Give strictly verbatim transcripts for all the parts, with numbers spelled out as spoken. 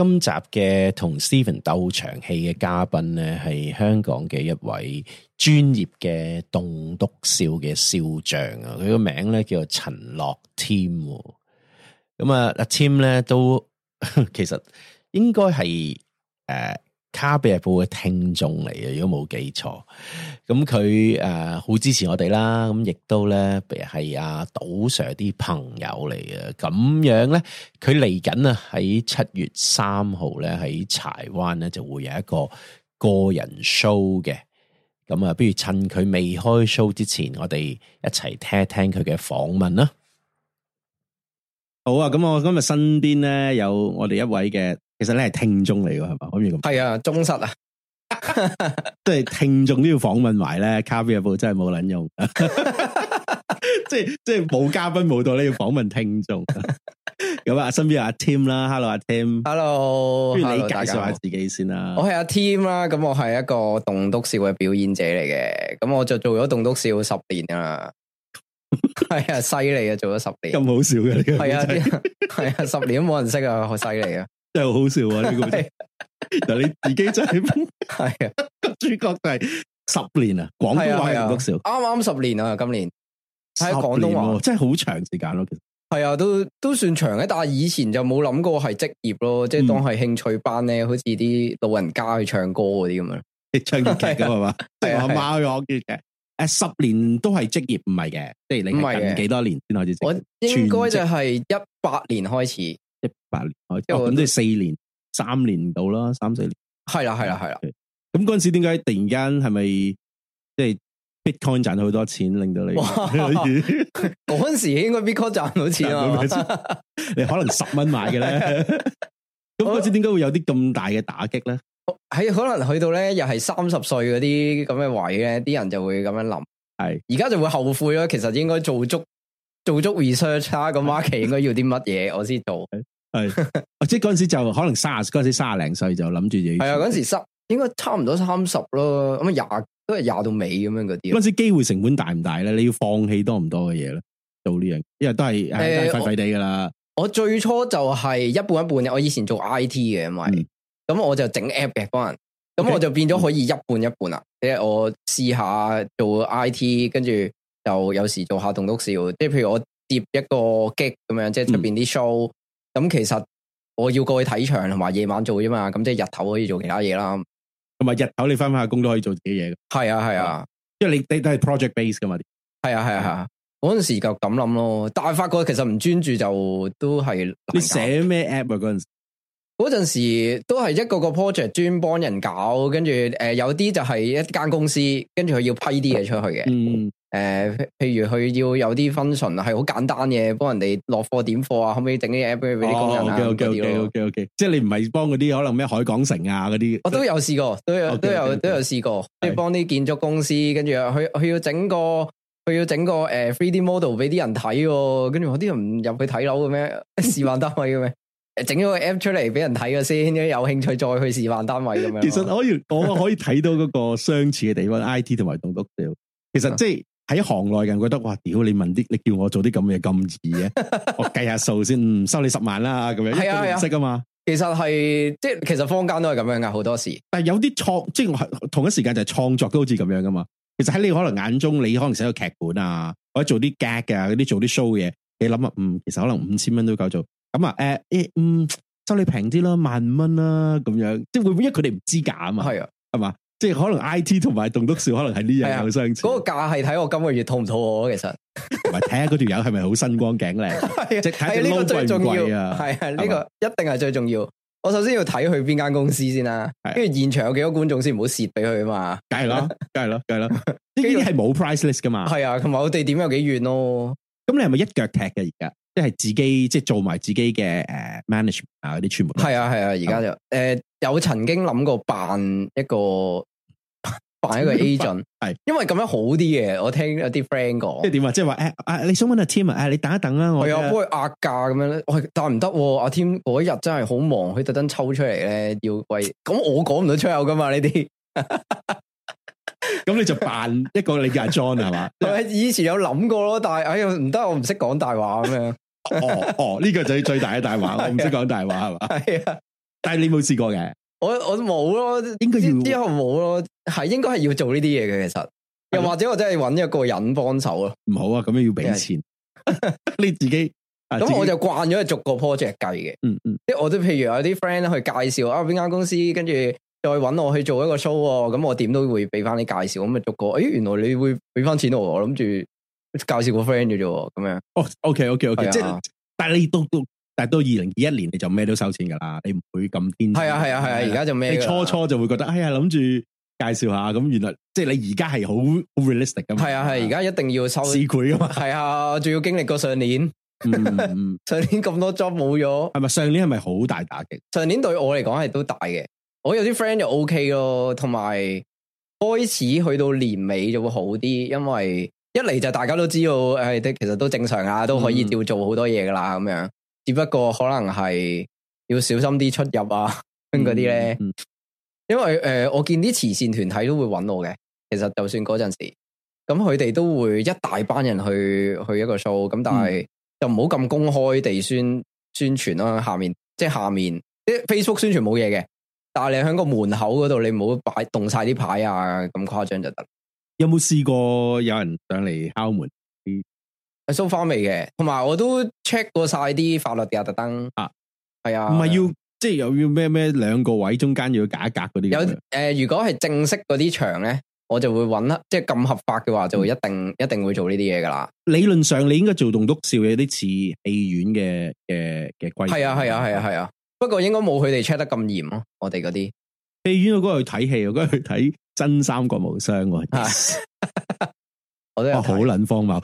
今集嘅同 Stephen 鬥長氣嘅嘉賓咧，係香港嘅一位專業嘅棟篤笑嘅笑匠啊！佢個名咧叫做陳樂 Tim。咁啊，阿 Tim 咧都其實應該係誒卡比日報嘅聽眾嚟嘅，如果冇記錯。咁佢誒好支持我哋啦，咁亦都咧係阿賭 Sir 啲朋友嚟嘅。咁樣咧，佢嚟緊啊喺七月三號咧喺柴灣咧就會有一個個人 show 嘅。咁啊，不如趁佢未開 show 之前，我哋一齊聽一聽佢嘅訪問啦。好啊，咁我今日身邊咧有我哋一位嘅。其實你係聽眾嚟㗎，係嘛？可以咁？係啊，忠實啊， 即係聽眾都要訪問埋咧。卡比日報真係冇撚用，即係即係冇嘉賓冇到咧，要訪問聽眾。咁啊，身邊有阿 Tim 啦 ，Hello 阿 Tim，Hello， 不如你介紹下自己先啦。 我係阿 Tim 啦，咁我係一個棟篤笑嘅表演者嚟嘅，咁我就做咗棟篤笑十年啦。係啊，犀利啊，做咗十年， 咁好笑嘅呢個， 係啊，係啊，十年都冇人識啊，好犀利啊！ 真係好笑啊！呢個但你自己真係係啊， 主角就係十年啊，廣東話棟篤笑， 啱啱十年啊，今年喺廣東話， 真係好長時間咯。其實係啊，都都算長嘅，但係以前就冇諗過係職業咯，即係當係興趣班咧，好似啲老人家去唱歌嗰啲咁樣， 唱粵劇咁係嘛？即係我阿媽去學粵劇。誒，十年都係職業唔係嘅，即係你係近幾多年先開始？ 我應該就係一八年開始， 一八年開始，咁即係四年、三年到啦，三四年。係啦，係啦，係啦。咁嗰陣時點解突然間係咪即係 Bitcoin 賺咗好多錢，令到你？ 嗰陣時應該 Bitcoin 賺到錢啊！ 你可能十蚊買嘅咧。咁嗰陣時點解會有啲咁大嘅打擊咧？ 喺可能去到咧，又係三十歲嗰啲咁嘅位咧，啲人就會咁樣諗。係而家就會後悔咯。其實應該做足做足 research 啦，個 market 應該要啲乜嘢，我先做。係， 即係嗰陣時就可能卅嗰陣時卅零歲就諗住自己。係啊，嗰陣時三應該差唔多三十咯。咁啊廿都係廿到尾咁樣嗰啲。 嗰陣時機會成本大唔大咧？你要放棄多唔多嘅嘢咧？做呢樣，因為都係誒廢廢地噶啦。 我最初就係一半一半嘅。我以前做 I T 嘅，因為。嗯咁我就整 app 嘅幫人，咁我就變咗可以一半一半啦。即係、嗯、我試下做 I T， 跟住就有時做下棟篤笑。即係譬如我接一個 gig 咁樣，即係出邊啲 show。咁、嗯、其實我要過去睇場，同埋夜晚做啫嘛。咁即係日頭可以做其他嘢啦。 同埋日頭你翻翻下工都可以做自己嘢。 係啊係啊， 因為你你都係 project base 噶嘛。 係啊係啊係啊，嗰陣時就咁諗咯。但係發覺其實唔專注就都係。 你寫咩 app 啊？嗰陣時？ 嗰陣時都係一個個 project 專幫人搞，跟住誒有啲就係一間公司，跟住佢要批啲嘢出去嘅。嗯，誒、呃，譬如佢要有啲 function 係好簡單嘅，幫人哋落貨點貨啊，可唔可以整啲 app 俾啲工人啊？ OK OK OK OK OK，即係你唔係幫嗰啲可能咩海港城啊嗰啲， 我都有試過，都有 okay, 都有 okay, 都有試過，即係幫啲建築公司，跟住佢佢要整個佢要整個誒 three D model 俾啲人睇，跟住我啲人唔入去睇樓嘅咩？示範單位嘅咩？整咗個 app 出嚟俾人睇嘅先，有興趣再去示範單位咁樣。 其實可以，我可以睇到嗰個相似嘅地方，I T 同埋棟篤笑。其實即係喺行內人覺得，哇！屌你問啲，你叫我做啲咁嘅咁易嘅，我計下數先，嗯，收你十萬啦咁樣。係啊係啊，識啊嘛。其實係即係，其實坊間都係咁樣噶，好多時。 但係有啲創，即係同一時間就係創作都好似咁樣噶嘛。其實喺你可能眼中，你可能寫個劇本啊，或者做啲 gag 啊，嗰啲做啲 show 嘅嘢，你諗啊，嗯，其實可能五千蚊都夠做。咁啊，誒、呃，誒，嗯。收你平啲啦，萬五蚊啦，咁樣，即係會唔會因為佢哋唔知價啊嘛？係啊，係嘛，即係可能 I T 同埋棟篤笑可能係呢樣有相似。 嗰、那個價係睇我今個月肚唔肚餓，其實同埋睇下嗰條友係咪好身光頸靚，即係睇呢個最重要啊！係啊，呢、這個一定係最重要。我首先要睇佢邊間公司先啦，跟住現場有幾多觀眾先，唔好蝕俾佢啊嘛。梗係咯，梗係咯，梗係咯，呢啲係冇 price list 噶嘛。係啊，同埋我哋點有幾遠咯。咁你係咪一腳踢嘅而家？即係自己即係做埋自己嘅誒、uh, management 啊嗰啲全部係啊係啊，而家就誒、呃、有曾經諗過辦一個辦一個 agent 係，因為咁樣好啲嘅。我聽有啲 friend 講，即係點啊？即係話誒啊，你想問阿 Tim 啊？你等一等啦，我係啊，幫佢壓價咁樣咧。喂，但係唔得，阿 Tim 嗰一日真係好忙，佢特登抽出嚟咧，要喂咁我講唔到出口噶嘛呢啲。咁你就扮一個你嘅 John 係嘛？以前有諗過咯，但係哎呀唔得，我唔識講大話咁樣。哦哦，呢、這個就係最大嘅大話，我唔識講大話係嘛？係啊， 但係你冇試過嘅， 我我冇咯， 應該要之後冇咯，係應該係要做呢啲嘢嘅，其實又或者我真係揾一個人幫手咯。 唔好啊，咁樣要俾錢，你自己。 咁我就慣咗係逐個 project 計嘅，嗯嗯，即係我都譬如有啲 friend 去介紹啊邊間公司，跟住再揾我去做一個 show，咁我點都會俾翻啲介紹，咁啊逐個，誒原來你會俾翻錢我，我諗住介紹個 friend 嘅啫，咁樣。哦 ，OK OK OK，即係，但係你到到，但係到二零二一年你就咩都收錢噶啦，你唔會咁天。係啊係啊係啊，而家就咩？ 你初初就會覺得，哎呀諗住介紹下，咁原來即係你而家係好好 realistic 噶嘛。係啊係，而家一定要收市儈噶嘛。係啊，仲要經歷過上年。嗯，上年咁多 job 冇咗， 係咪上年係咪好大打擊？ 上年對我嚟講係都大嘅，我有啲 friend 就 OK 咯，同埋開始去到年尾就會好啲，因為一嚟就大家都知道，誒，其實都正常啊，都可以照做好多嘢噶啦，咁樣，只不過可能係要小心啲出入啊，嗰啲咧，嗯嗯、因為誒、呃，我見啲慈善團體都會揾我嘅，其實就算嗰陣時，咁佢哋都會一大班人去去一個 show，咁但係。嗯就唔好咁公開地宣宣傳啦，下面即係下面啲 Facebook 宣傳冇嘢嘅，但係你喺個門口嗰度，你唔好擺動晒啲牌啊，咁誇張就得。 有冇試過有人上嚟敲門？ 係 so far 未嘅，同埋我都 check 過晒啲法律嘅特登啊，係啊， 唔係要即係又要咩咩兩個位中間要隔一格嗰啲。 有誒、呃，如果係正式嗰啲場咧。我就會揾啦，即係咁合法嘅話，就會一定、嗯、一定會做呢啲嘢噶啦。理論上你應該做棟篤笑有啲似戲院嘅嘅嘅規矩。 係啊係啊係啊係啊，不過應該冇佢哋 check 得咁嚴咯。我哋嗰啲戲院我嗰日去睇戲，我嗰日去睇真三國無雙。我都有好撚荒謬，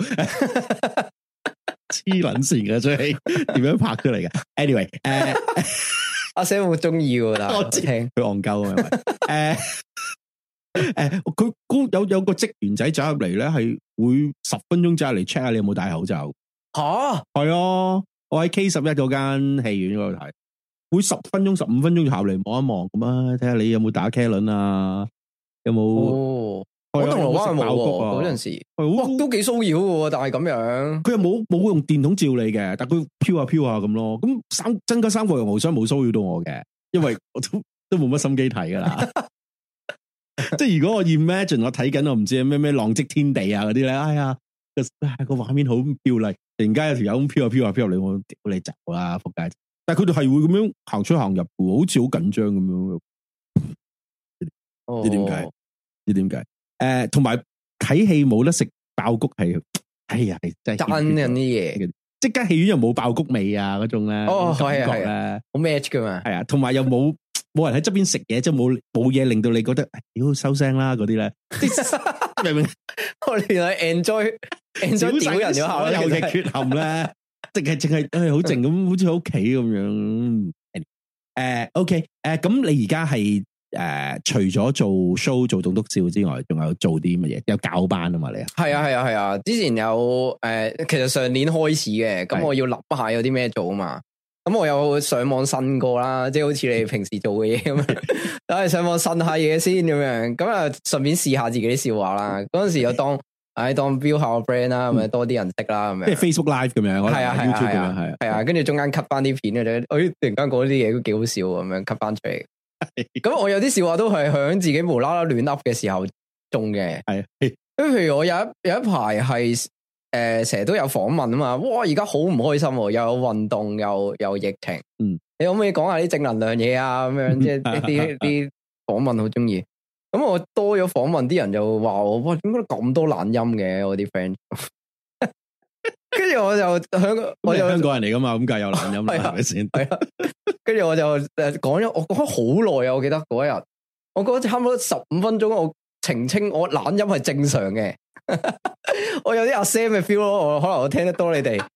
黐撚線嘅出戲，點樣拍出嚟嘅 ？Anyway， 誒、uh, 阿 Sam 好中意噶，但係我聽佢戇鳩啊，誒。誒，佢嗰有有個職員仔走入嚟咧，係會十分鐘走入嚟 check 下你有冇戴口罩。吓，係啊，我喺 K 十一嗰間戲院嗰度睇，會十分鐘、十五分鐘就下嚟望一望咁啊，睇下你有冇打茄輪啊，有冇？哦， 我銅鑼灣冇嗰陣時，哇，都幾騷擾嘅，但係咁樣， 佢又冇冇用電筒照你嘅，但佢飄下飄下咁咯。咁三真家三國無雙冇騷擾到我嘅，因為我都都冇乜心機睇噶啦。即係如果我 imagine 我睇緊我唔知咩咩浪跡天地啊嗰啲咧，哎呀個畫面好漂麗，突然間有條友咁飄下飄下飄入嚟，我屌你走啦仆街！但係佢哋係會咁樣行出行入嘅，好似好緊張咁樣。唔知點解？唔知點解？誒，同埋睇戲冇得食爆谷係，哎呀，真係真嘅啲嘢。 即間戲院又冇爆谷味啊嗰種咧， 哦係啊係啊，好 match 噶嘛。 係啊，同埋又冇。冇人喺側邊食嘢，即係冇冇嘢令到你覺得，屌收聲啦嗰啲咧，明唔明？ 我哋係 enjoy enjoy 屌人咗下， 有嘅缺陷咧，淨係淨係誒好靜咁，好似喺屋企咁樣。誒，OK，誒，咁你而家係誒除咗做 show 做棟篤笑之外，仲有做啲乜嘢？有教班啊嘛？你啊？ 係啊係啊係啊！之前有誒，其實上年開始嘅，咁我要諗下有啲咩做啊嘛。咁我有上網呻過啦，即係好似你平時做嘅嘢咁樣，等係上網呻下嘢先咁樣，咁啊順便試下自己啲笑話啦。嗰陣時又當，唉當標下個 friend 啦，咁啊多啲人識啦，咁樣。即係 Facebook Live 咁樣， 係啊係啊係啊係啊，跟住中間 cut 翻啲片嘅啫，誒突然間講啲嘢都幾好笑咁樣 cut 翻出嚟。咁我有啲笑話都係響自己無啦啦亂噏嘅時候中嘅，係。咁譬如我有一有一排係。誒，成日、呃、都有訪問啊嘛，哇！而家好唔開心，又有運動，又有疫情，嗯，你可唔可以講下啲正能量嘢啊？咁樣即係一啲啲訪問好中意。咁我多咗訪問，啲人就話我，哇，點解咁多懶音嘅？我啲 friend，跟住我就香港，我就香港人嚟噶嘛，咁梗係有懶音啦，係咪先？係啊， 跟住我就誒講咗，我講咗好耐啊！我記得嗰一日，我覺得差唔多十五分鐘，我澄清我懶音係正常嘅。我有啲阿 Sam 嘅 feel 咯，我可能我聽得多你哋，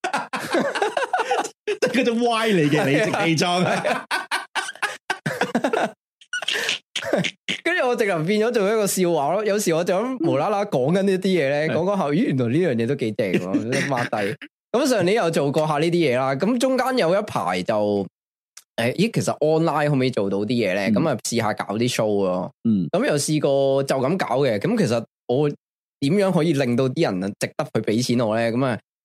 嗰種歪嚟嘅理直氣壯。 跟住我直頭變咗做一個笑話咯。有時我就咁無啦啦講緊呢啲嘢咧，講講下，咦，原來呢樣嘢都幾正喎，抹低。咁上年又做過下呢啲嘢啦。咁中間有一排就誒，咦，其實 online 可唔可以做到啲嘢咧？咁啊試下搞啲 show 咯。嗯，咁又試過就咁搞嘅。咁其實我。點樣可以令到啲人值得去俾錢我咧？咁啊，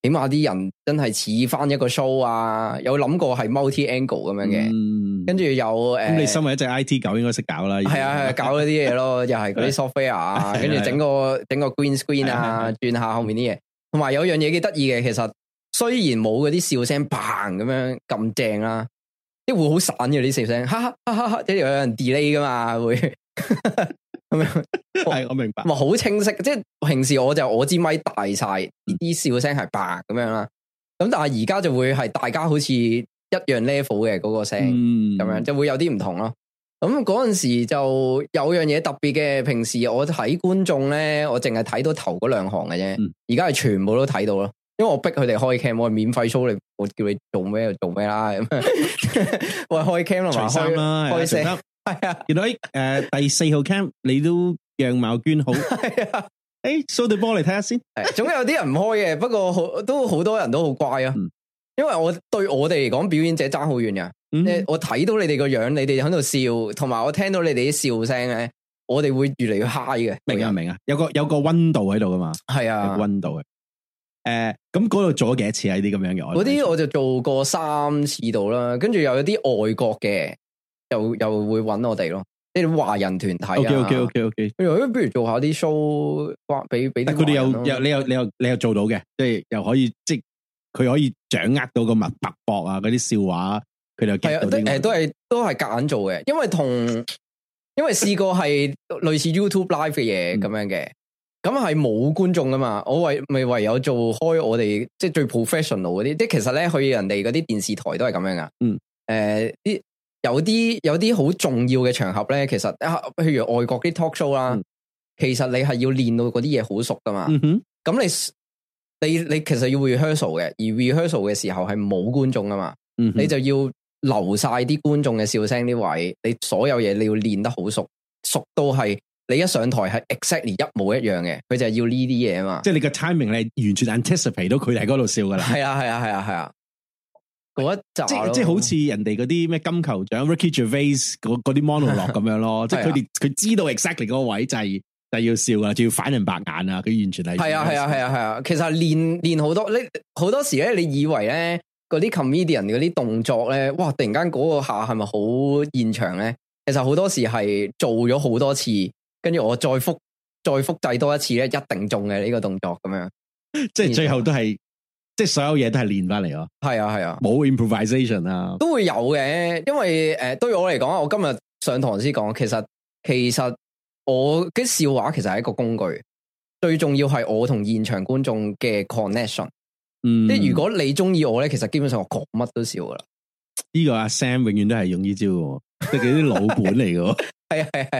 起碼啲人真係似翻一個 show 啊，有諗過係 multi angle 咁樣嘅，嗯、跟住有誒，咁、 呃、你身為一隻 I T 狗應該識搞啦， 係啊係啊，搞嗰啲嘢咯，又係嗰啲 software 啊，跟住整個整個 green screen 啊，轉下後面啲嘢，同埋有樣嘢幾得意嘅，其實雖然冇嗰啲笑聲嘭咁樣咁正啦，即係會好散嘅啲笑聲，哈哈哈哈哈，即係有人 delay 噶嘛會。咁樣係我明白， 咪好清晰。即係平時我就我支咪大晒，啲笑聲係白咁樣啦。咁但係而家就會係大家好似一樣 level 嘅嗰個聲，咁樣就會有啲唔同咯。咁嗰陣時就有樣嘢特別嘅。平時我睇觀眾咧，我淨係睇到頭嗰兩行嘅啫。而家係全部都睇到咯，因為我逼佢哋開 cam，我係免費 show 你，我叫你做咩就做咩啦。咁我開 cam 同埋開開聲。係啊，原來誒、呃、第四號 cam 你都樣貌娟好，係啊，誒 show 對波嚟睇下先，係，總有啲人唔開嘅，不過好都好多人都好乖啊，嗯、因為我對我哋嚟講表演者爭好遠噶，嗯、我睇到你哋個樣，你哋喺度笑，同埋我聽到你哋啲笑聲咧，我哋會越嚟越 high 嘅，明啊明啊，有個有個溫度喺度噶嘛，係啊，有個溫度嘅，誒、呃，咁嗰度做咗幾多次啊？呢啲咁樣嘅，嗰啲我就做過三次度啦，跟住又有啲外國嘅。又又會揾我哋咯，呢啲華人團體啊。OK OK OK OK。不如不如做下啲 show，俾俾啲。佢哋又又你又你又你又做到嘅，即係又可以即係佢可以掌握到個脈脈搏啊，嗰啲笑話，佢哋又 get 到啲。誒，都係都係夾硬做嘅，因為同因為試過係類似 YouTube Live 嘅嘢咁樣嘅，咁係冇觀眾噶嘛，我唯咪唯有做開我哋即係最 professional 嗰啲，即係其實咧去人哋嗰啲電視台都係咁樣噶。嗯。誒啲。有啲有啲好重要嘅場合咧，其實啊，譬如外國啲 talk show 啦，嗯、其實你係要練到嗰啲嘢好熟噶嘛。咁、嗯、哼你你你其實要 rehearsal 嘅，而 rehearsal 嘅時候係冇觀眾噶嘛，嗯、哼你就要留晒啲觀眾嘅笑聲啲位，你所有嘢你要練得好熟，熟到係你一上台係 exactly 一模一樣嘅，佢就係要呢啲嘢啊嘛。即係你個 timing 你完全 anticipate 到佢喺嗰度笑噶啦。係啊係啊係啊係啊。嗰一集即即好似人哋嗰啲咩金球獎 Ricky Gervais 嗰嗰啲 monologue 咁樣咯，即係佢哋佢知道 exactly 嗰個位就係就係要笑噶，仲要反人白眼啊！佢完全係係啊係啊係啊係啊，其實練練好多，你好多時咧，你以為咧嗰啲 comedian 嗰啲動作咧，哇！突然間嗰個下係咪好現場咧？其實好多時係做咗好多次，跟住我再複再複製多一次咧，一定中嘅呢個動作咁樣，即係最後都係。即係所有嘢都係練翻嚟咯，係啊係啊，冇 improvisation 啊，都會有嘅。因為誒、呃，對我嚟講，我今日上堂先講，其實其實我嘅笑話其實係一個工具，最重要係我同現場觀眾嘅 connection。嗯，即係如果你中意我咧，其實基本上我講乜都笑噶啦。呢個阿 Sam 永遠都係用呢招嘅，即係佢啲老本嚟嘅。係啊係係。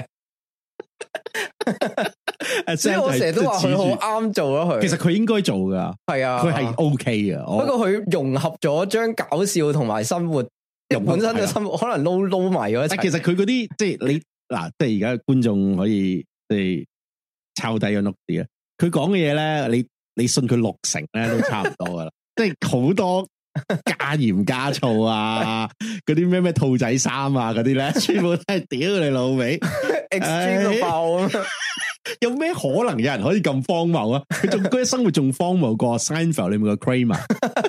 所以我成日都話佢好啱做咯，佢其實佢應該做噶，係啊，佢係 OK 嘅。不過佢融合咗將搞笑同埋生活，即係本身嘅生活可能撈撈埋咗一齊。其實佢嗰啲即係你嗱，即係而家觀眾可以即係抄低個 note 啲啊。佢講嘅嘢咧，你你信佢六成咧都差唔多噶啦，即係好多加鹽加醋啊，嗰啲咩咩兔仔衫啊嗰啲咧，全部都係屌你老味 extreme 到爆啊！有咩可能有人可以咁荒謬啊？佢仲嗰啲生活仲荒謬過 Seinfeld 裏面個 Kramer。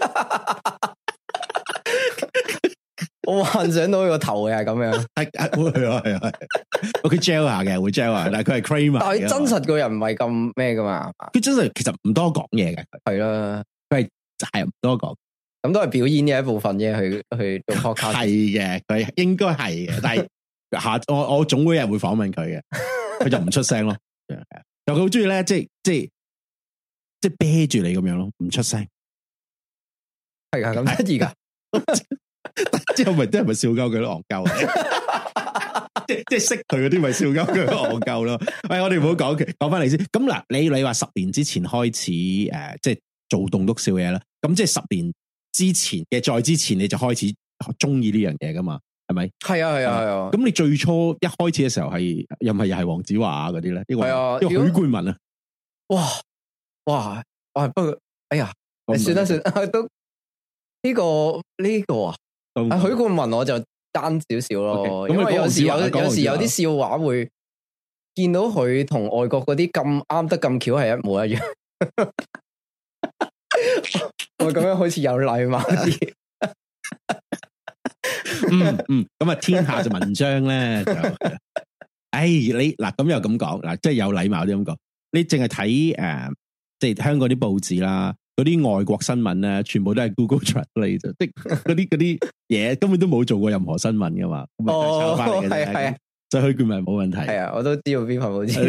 我幻想到佢個頭嘅係咁樣，係係啊係啊，佢 gel 下嘅會 gel 下，但係佢係 Kramer。但係真實個人唔係咁咩噶嘛？佢真實其實唔多講嘢嘅，係啦，佢係係唔多講，咁都係表演嘅一部分啫。去去做 podcast 係嘅，佢應該係嘅，但係下我我總會有人會訪問佢嘅，佢就唔出聲咯。又佢好中意咧，即係即係即係啤住你咁樣咯，唔出聲。係啊，咁得意噶。之後咪啲人咪笑鳩佢咯，戇鳩。即係即係識佢嗰啲咪笑鳩佢戇鳩咯。喂，我哋唔好講嘅，講翻嚟先。咁嗱，你你話十年之前開始誒、呃，即係做棟篤笑嘢啦。咁即係十年之前嘅，再之前你就開始中意呢樣嘢噶嘛？係咪？係啊，係啊，係啊。咁你最初一開始嘅時候係又唔係又係黃子華嗰啲咧？係啊，因為許冠文啊。哇哇哇！不過哎呀，你算啦算啦，都呢個呢個啊。許冠文我就單少少咯，因為有時有有時有啲笑話會見到佢同外國嗰啲咁啱得咁巧係一模一樣。 我咁樣好似有禮貌啲。 嗯嗯，咁啊，天下就文章咧就，哎，你嗱咁又咁講嗱，即係有禮貌啲咁講，你淨係睇誒，即係香港啲報紙啦，嗰啲外國新聞咧，全部都係 Google Translate 啫，即係嗰啲嗰啲嘢根本都冇做過任何新聞噶嘛，咁啊抄翻嚟嘅啫，係啊，就去佢咪冇問題。係啊，我都知道邊份報紙。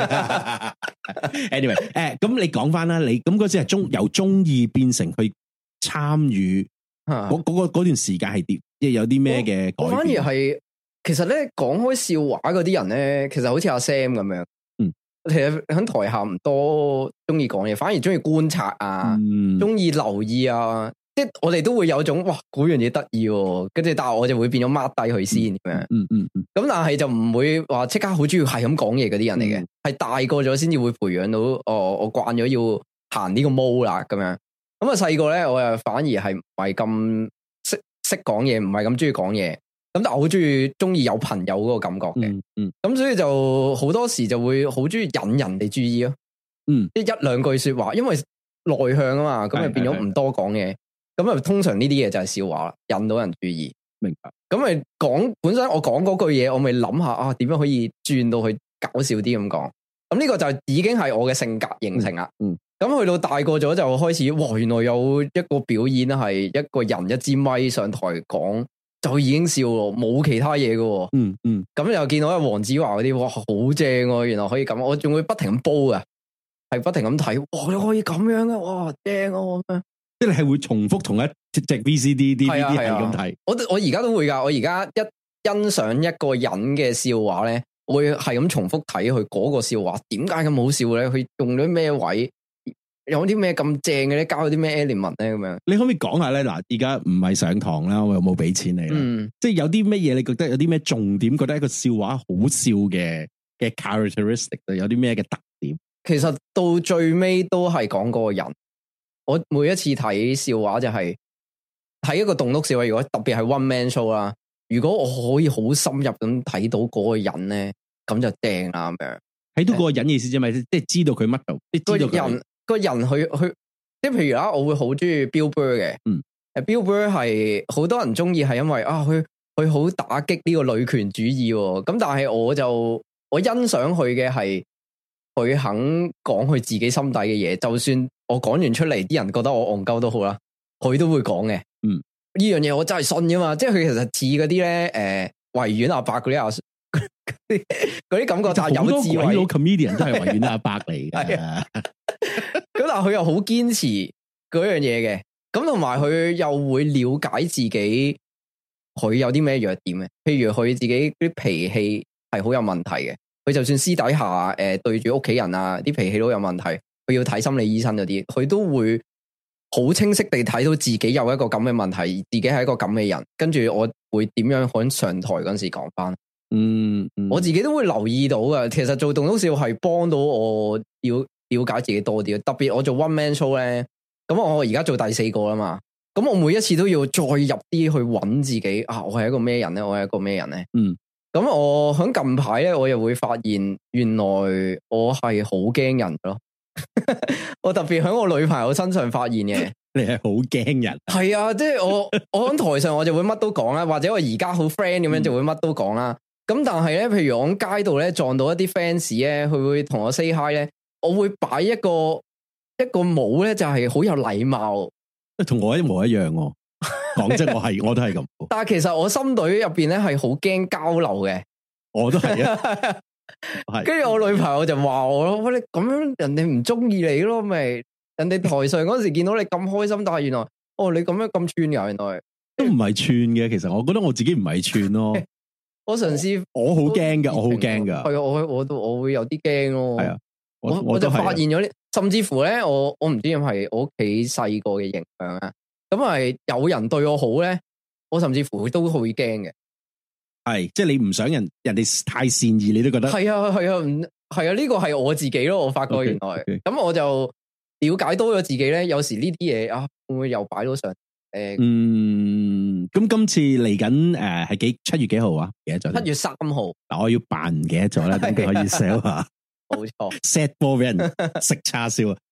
Anyway， 誒，咁你講翻啦，你咁嗰時係中由中意變成去參與。嗰嗰個嗰段時間係點？即係有啲咩嘅改變？ 我反而係，其實咧講開笑話嗰啲人咧，其實好似阿 Sam 咁樣，嗯，其實喺台下唔多中意講嘢，反而中意觀察啊，中意、嗯、留意啊，即係我哋都會有種哇，嗰樣嘢得意，跟住但係我就會變咗 mark 低佢先咁樣，嗯嗯嗯，咁但係就唔會話即刻好中意係咁講嘢嗰啲人嚟嘅，係、嗯、大個咗先至會培養到，哦，我慣咗要行呢個毛啦咁樣。咁啊，細個咧，我又反而係唔係咁識識講嘢，唔係咁中意講嘢。咁但係我好中意中意有朋友嗰個感覺嘅。嗯。嗯。咁所以就好多時就會好中意引人哋注意咯。嗯。即係一兩句說話，因為內向啊嘛，咁咪變咗唔多講嘢。咁啊，通常呢啲嘢就係笑話啦，引到人注意。明白。咁咪講本身我講嗰句嘢，我咪諗下啊，點樣可以轉到去搞笑啲咁講。咁呢個就已經係我嘅性格形成啦。嗯。咁去到大個咗就開始，哇！原來有一個表演係一個人一支咪上台講，就已經笑咯，冇其他嘢嘅。嗯嗯。咁又見到阿黃子華嗰啲，哇，好正喎！原來可以咁，我仲會不停咁煲啊，係不停咁睇，哇！你可以咁樣嘅，哇，正啊！咁樣， 即係你係會重複同一隻 V C D、D V D 係咁睇。 我我而家都會噶，我而家一欣賞一個人嘅笑話咧，我會係咁重複睇佢嗰個笑話，點解咁好笑咧？佢用咗咩位？有啲咩咁正嘅咧？交咗啲咩 element 咧？咁樣，你可唔可以講下咧？嗱，而家唔係上堂啦，我又冇俾錢你啦。嗯，即係有啲乜嘢？你覺得有啲咩重點？覺得一個笑話好笑嘅嘅 characteristic，有啲咩嘅特點？其實到最尾都係講嗰個人。我每一次睇笑話就係、是、睇一個棟篤笑話，如果特別係 one man show 啦，如果我可以好深入咁睇到嗰個人咧，咁就正啦咁樣。睇到嗰個人意思啫嘛，即係知道佢乜度，即係知道人。個人去去，即係譬如啦，我會好中意 Bill Burr 嘅。嗯，誒，Bill Burr 係好多人中意，係因為啊，佢佢好打擊呢個女權主義。咁但係我就我欣賞佢嘅係，佢肯講佢自己心底嘅嘢，就算我講完出嚟，啲人覺得我戇鳩都好啦，佢都會講嘅。嗯，呢樣嘢我真係信噶嘛，即係佢其實似嗰啲咧，誒，維園阿伯嗰啲阿嗰啲感覺，就係有智慧。好多鬼佬 comedian 都係維園阿伯嚟嘅。咁但係佢又好堅持嗰樣嘢嘅，咁同埋佢又會了解自己，佢有啲咩弱點嘅。譬如佢自己啲脾氣係好有問題嘅，佢就算私底下誒、呃、對住屋企人啊，啲脾氣都有問題，佢要睇心理醫生嗰啲，佢都會好清晰地睇到自己有一個咁嘅問題，自己係一個咁嘅人，跟住我會點樣喺上台嗰陣時講翻。嗯，嗯，我自己都會留意到嘅。其實做棟篤笑係幫到我要了解自己多啲，特別我做 one man show 咧，咁我而家做第四個啦嘛，咁我每一次都要再入啲去揾自己啊，我係一個咩人咧？我係一個咩人咧？嗯，咁我喺近排咧，我又會發現原來我係好驚人咯，我特別喺我女朋友身上發現嘅，你係好驚人，係啊，即係我我喺台上我就會乜都講啦，或者我而家好 friend 咁樣就會乜都講啦，咁、嗯、但係咧，譬如我喺街度咧撞到一啲 fans 咧，佢會同我 say hi 咧。我會擺一個一個帽咧，就係好有禮貌，同我一模一樣。講真，我係我都係咁。但係其實我心隊入邊咧係好驚交流嘅，我都係啊。係。跟住我女朋友就話我咯，喂，你咁樣人哋唔中意你咯，咪人哋台上嗰時見到你咁開心，但係原來哦你咁樣咁串噶，原來都唔係串嘅。其實我覺得我自己唔係串咯。我嘗試，我好驚噶，我好驚噶。係啊，我我都我會有啲驚咯。係啊。我我就發現咗呢，甚至乎咧，我我唔知係咪我屋企細個嘅影響啊。咁係有人對我好咧，我甚至乎都會驚嘅。係，即係你唔想人人哋太善意，你都覺得係啊係啊，唔係啊，呢個係我自己咯。我發覺原來咁，okay, okay. 我就了解多咗自己咧。有時呢啲嘢啊，會唔會又擺到上？誒、呃，嗯，咁今次嚟緊誒係幾七月幾號啊？記得咗七月三號。嗱，我要扮唔記得咗啦，等佢可以 sell 下。冇錯 ，set 波俾人食叉燒啊！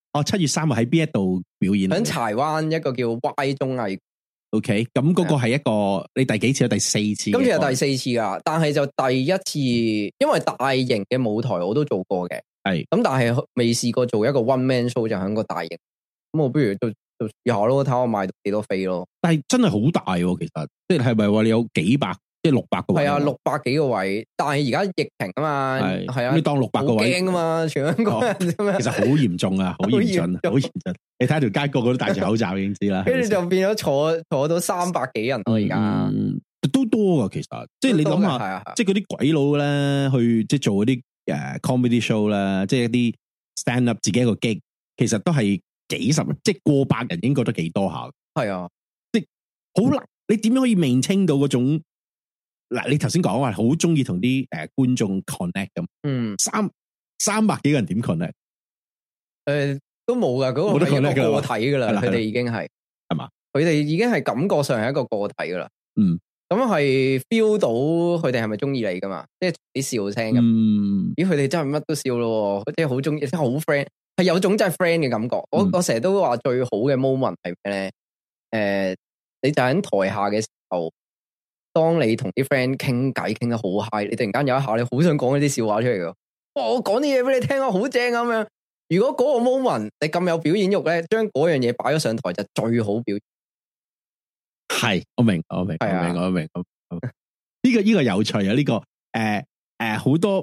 哦，七月三號喺邊一度表演？ 喺柴灣一個叫 Y 綜藝。 O K，咁嗰個係一個你第幾次啊？第四次。今次係第四次噶，但係就第一次，因為大型嘅舞台我都做過嘅，係咁，但係未試過做一個 one man show 就喺個大型。咁我不如就就試下咯，睇下我賣到幾多飛咯。但係真係好大喎，其實即係係咪話你有幾百？即係六百個位，係啊，六百幾個位，但係而家疫情啊嘛，係係啊，你當六百個位，驚啊嘛，全香港人咁樣，其實好嚴重啊，好嚴峻，好嚴峻。你睇條街個個都戴住口罩，已經知啦。跟住就變咗坐坐到三百幾人咯，而家都多噶，其實即係你諗下，即係嗰啲鬼佬咧去即係做嗰啲誒 comedy show 啦，即係一啲 stand up 自己一個 gig，其實都係幾十，即係過百人，已經覺得幾多下。係啊，即係好難，你點樣可以maintain到嗰種？嗱，你頭先講話好中意同啲誒觀眾 connect 咁，嗯，三三百幾個人點 connect？誒、呃，都冇噶，嗰、那個係一個個體噶啦，佢哋已經係係嘛？佢哋已經係感覺上係一個個體噶啦，嗯，咁係 feel 到佢哋係咪中意你噶嘛？即係啲笑聲咁，嗯，咦，佢哋真係乜都笑咯，即係好中意，即係好 friend，係有種真係 friend 嘅感覺。嗯、我我成日都話最好嘅 moment 係咩咧？誒、呃，你就喺台下嘅時候。當你同啲 friend 傾偈傾得好 high，你突然間有一下你好想講一啲笑話出嚟噶，哇！我講啲嘢俾你聽啊，好正咁樣。如果嗰個 moment 你咁有表演欲咧，將嗰樣嘢擺咗上台就最好表演。係，我明，我明，係啊，我明，我明。呢個呢個有趣啊！呢個誒誒好多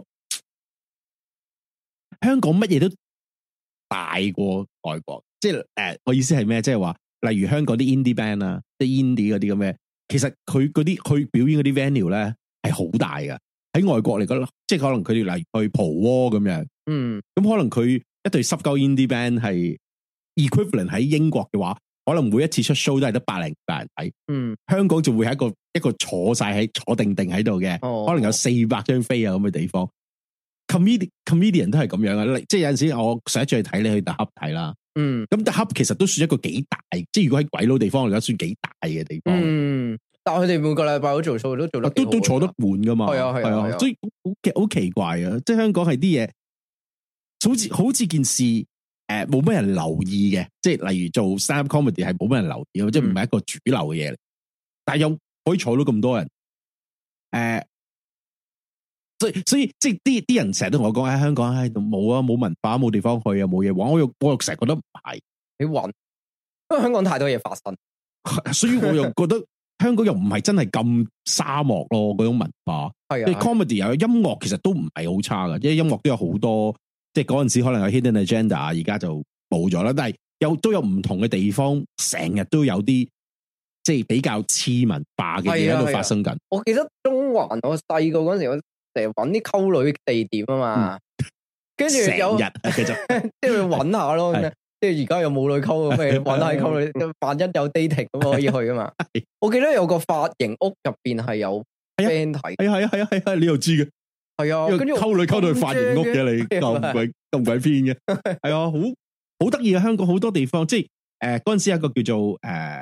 香港乜嘢都大過外國，即係誒我意思係咩？即係話，例如香港啲 indie band 啊，即係 indie 嗰啲咁嘅。其實佢嗰啲去表演嗰啲 venue 咧係好大噶，喺外國嚟講，即係可能佢哋例如去蒲窩咁樣，嗯，咁可能佢一隊濕鳩 indie band 係 equivalent 喺英國嘅話，可能每一次出 show 都係得百零百人睇，嗯，香港就會係一個一個坐晒喺坐定定喺度嘅，哦，可能有四百張飛啊咁嘅地方 ，comedian comedian 都係咁樣啊，即係有陣時我上一次去睇你去 The Hub 睇啦。嗯，咁 The Hub 其實都算一個幾大，即係如果喺鬼佬地方嚟講，算幾大嘅地方。嗯，但係佢哋每個禮拜都做 show，都做得都都坐得滿噶嘛。係啊係啊，啊啊所以好奇好奇怪啊！即係香港係啲嘢，好似好似件事誒，冇乜人留意嘅。即係例如做 stand up comedy 係冇乜人留意，嗯、即係唔係一個主流嘅嘢嚟。但係又可以坐到咁多人，誒、呃。所以所以即係啲啲人成日都同我講喺香港喺度冇啊，冇文化，冇地方去啊，冇嘢玩。我又我又成日覺得唔係你搵，因為香港太多嘢發生，所以我又覺得香港又唔係真係咁沙漠咯。嗰種文化係啊 ，comedy 又有音樂，其實都唔係好差噶，因為音樂都有好多，即係嗰陣時可能有 hidden agenda，而家就冇咗啦。但係有都有唔同嘅地方，成日都有啲即係比較次文化嘅嘢喺度發生緊。我記得中環，我細個嗰陣時我。成日揾啲溝女地點啊嘛，跟住有日繼續即係去揾下咯，即係而家又冇女溝咁，咪揾下溝女。萬一有 dating 咁可以去啊嘛。我記得有個髮型屋入邊係有 band 睇，係啊係啊係啊係啊，你又知嘅，係啊。跟住溝女溝到去髮型屋嘅你，咁鬼咁鬼偏嘅，係啊，好好得意啊！香港好多地方，即係誒嗰陣時有一個叫做誒誒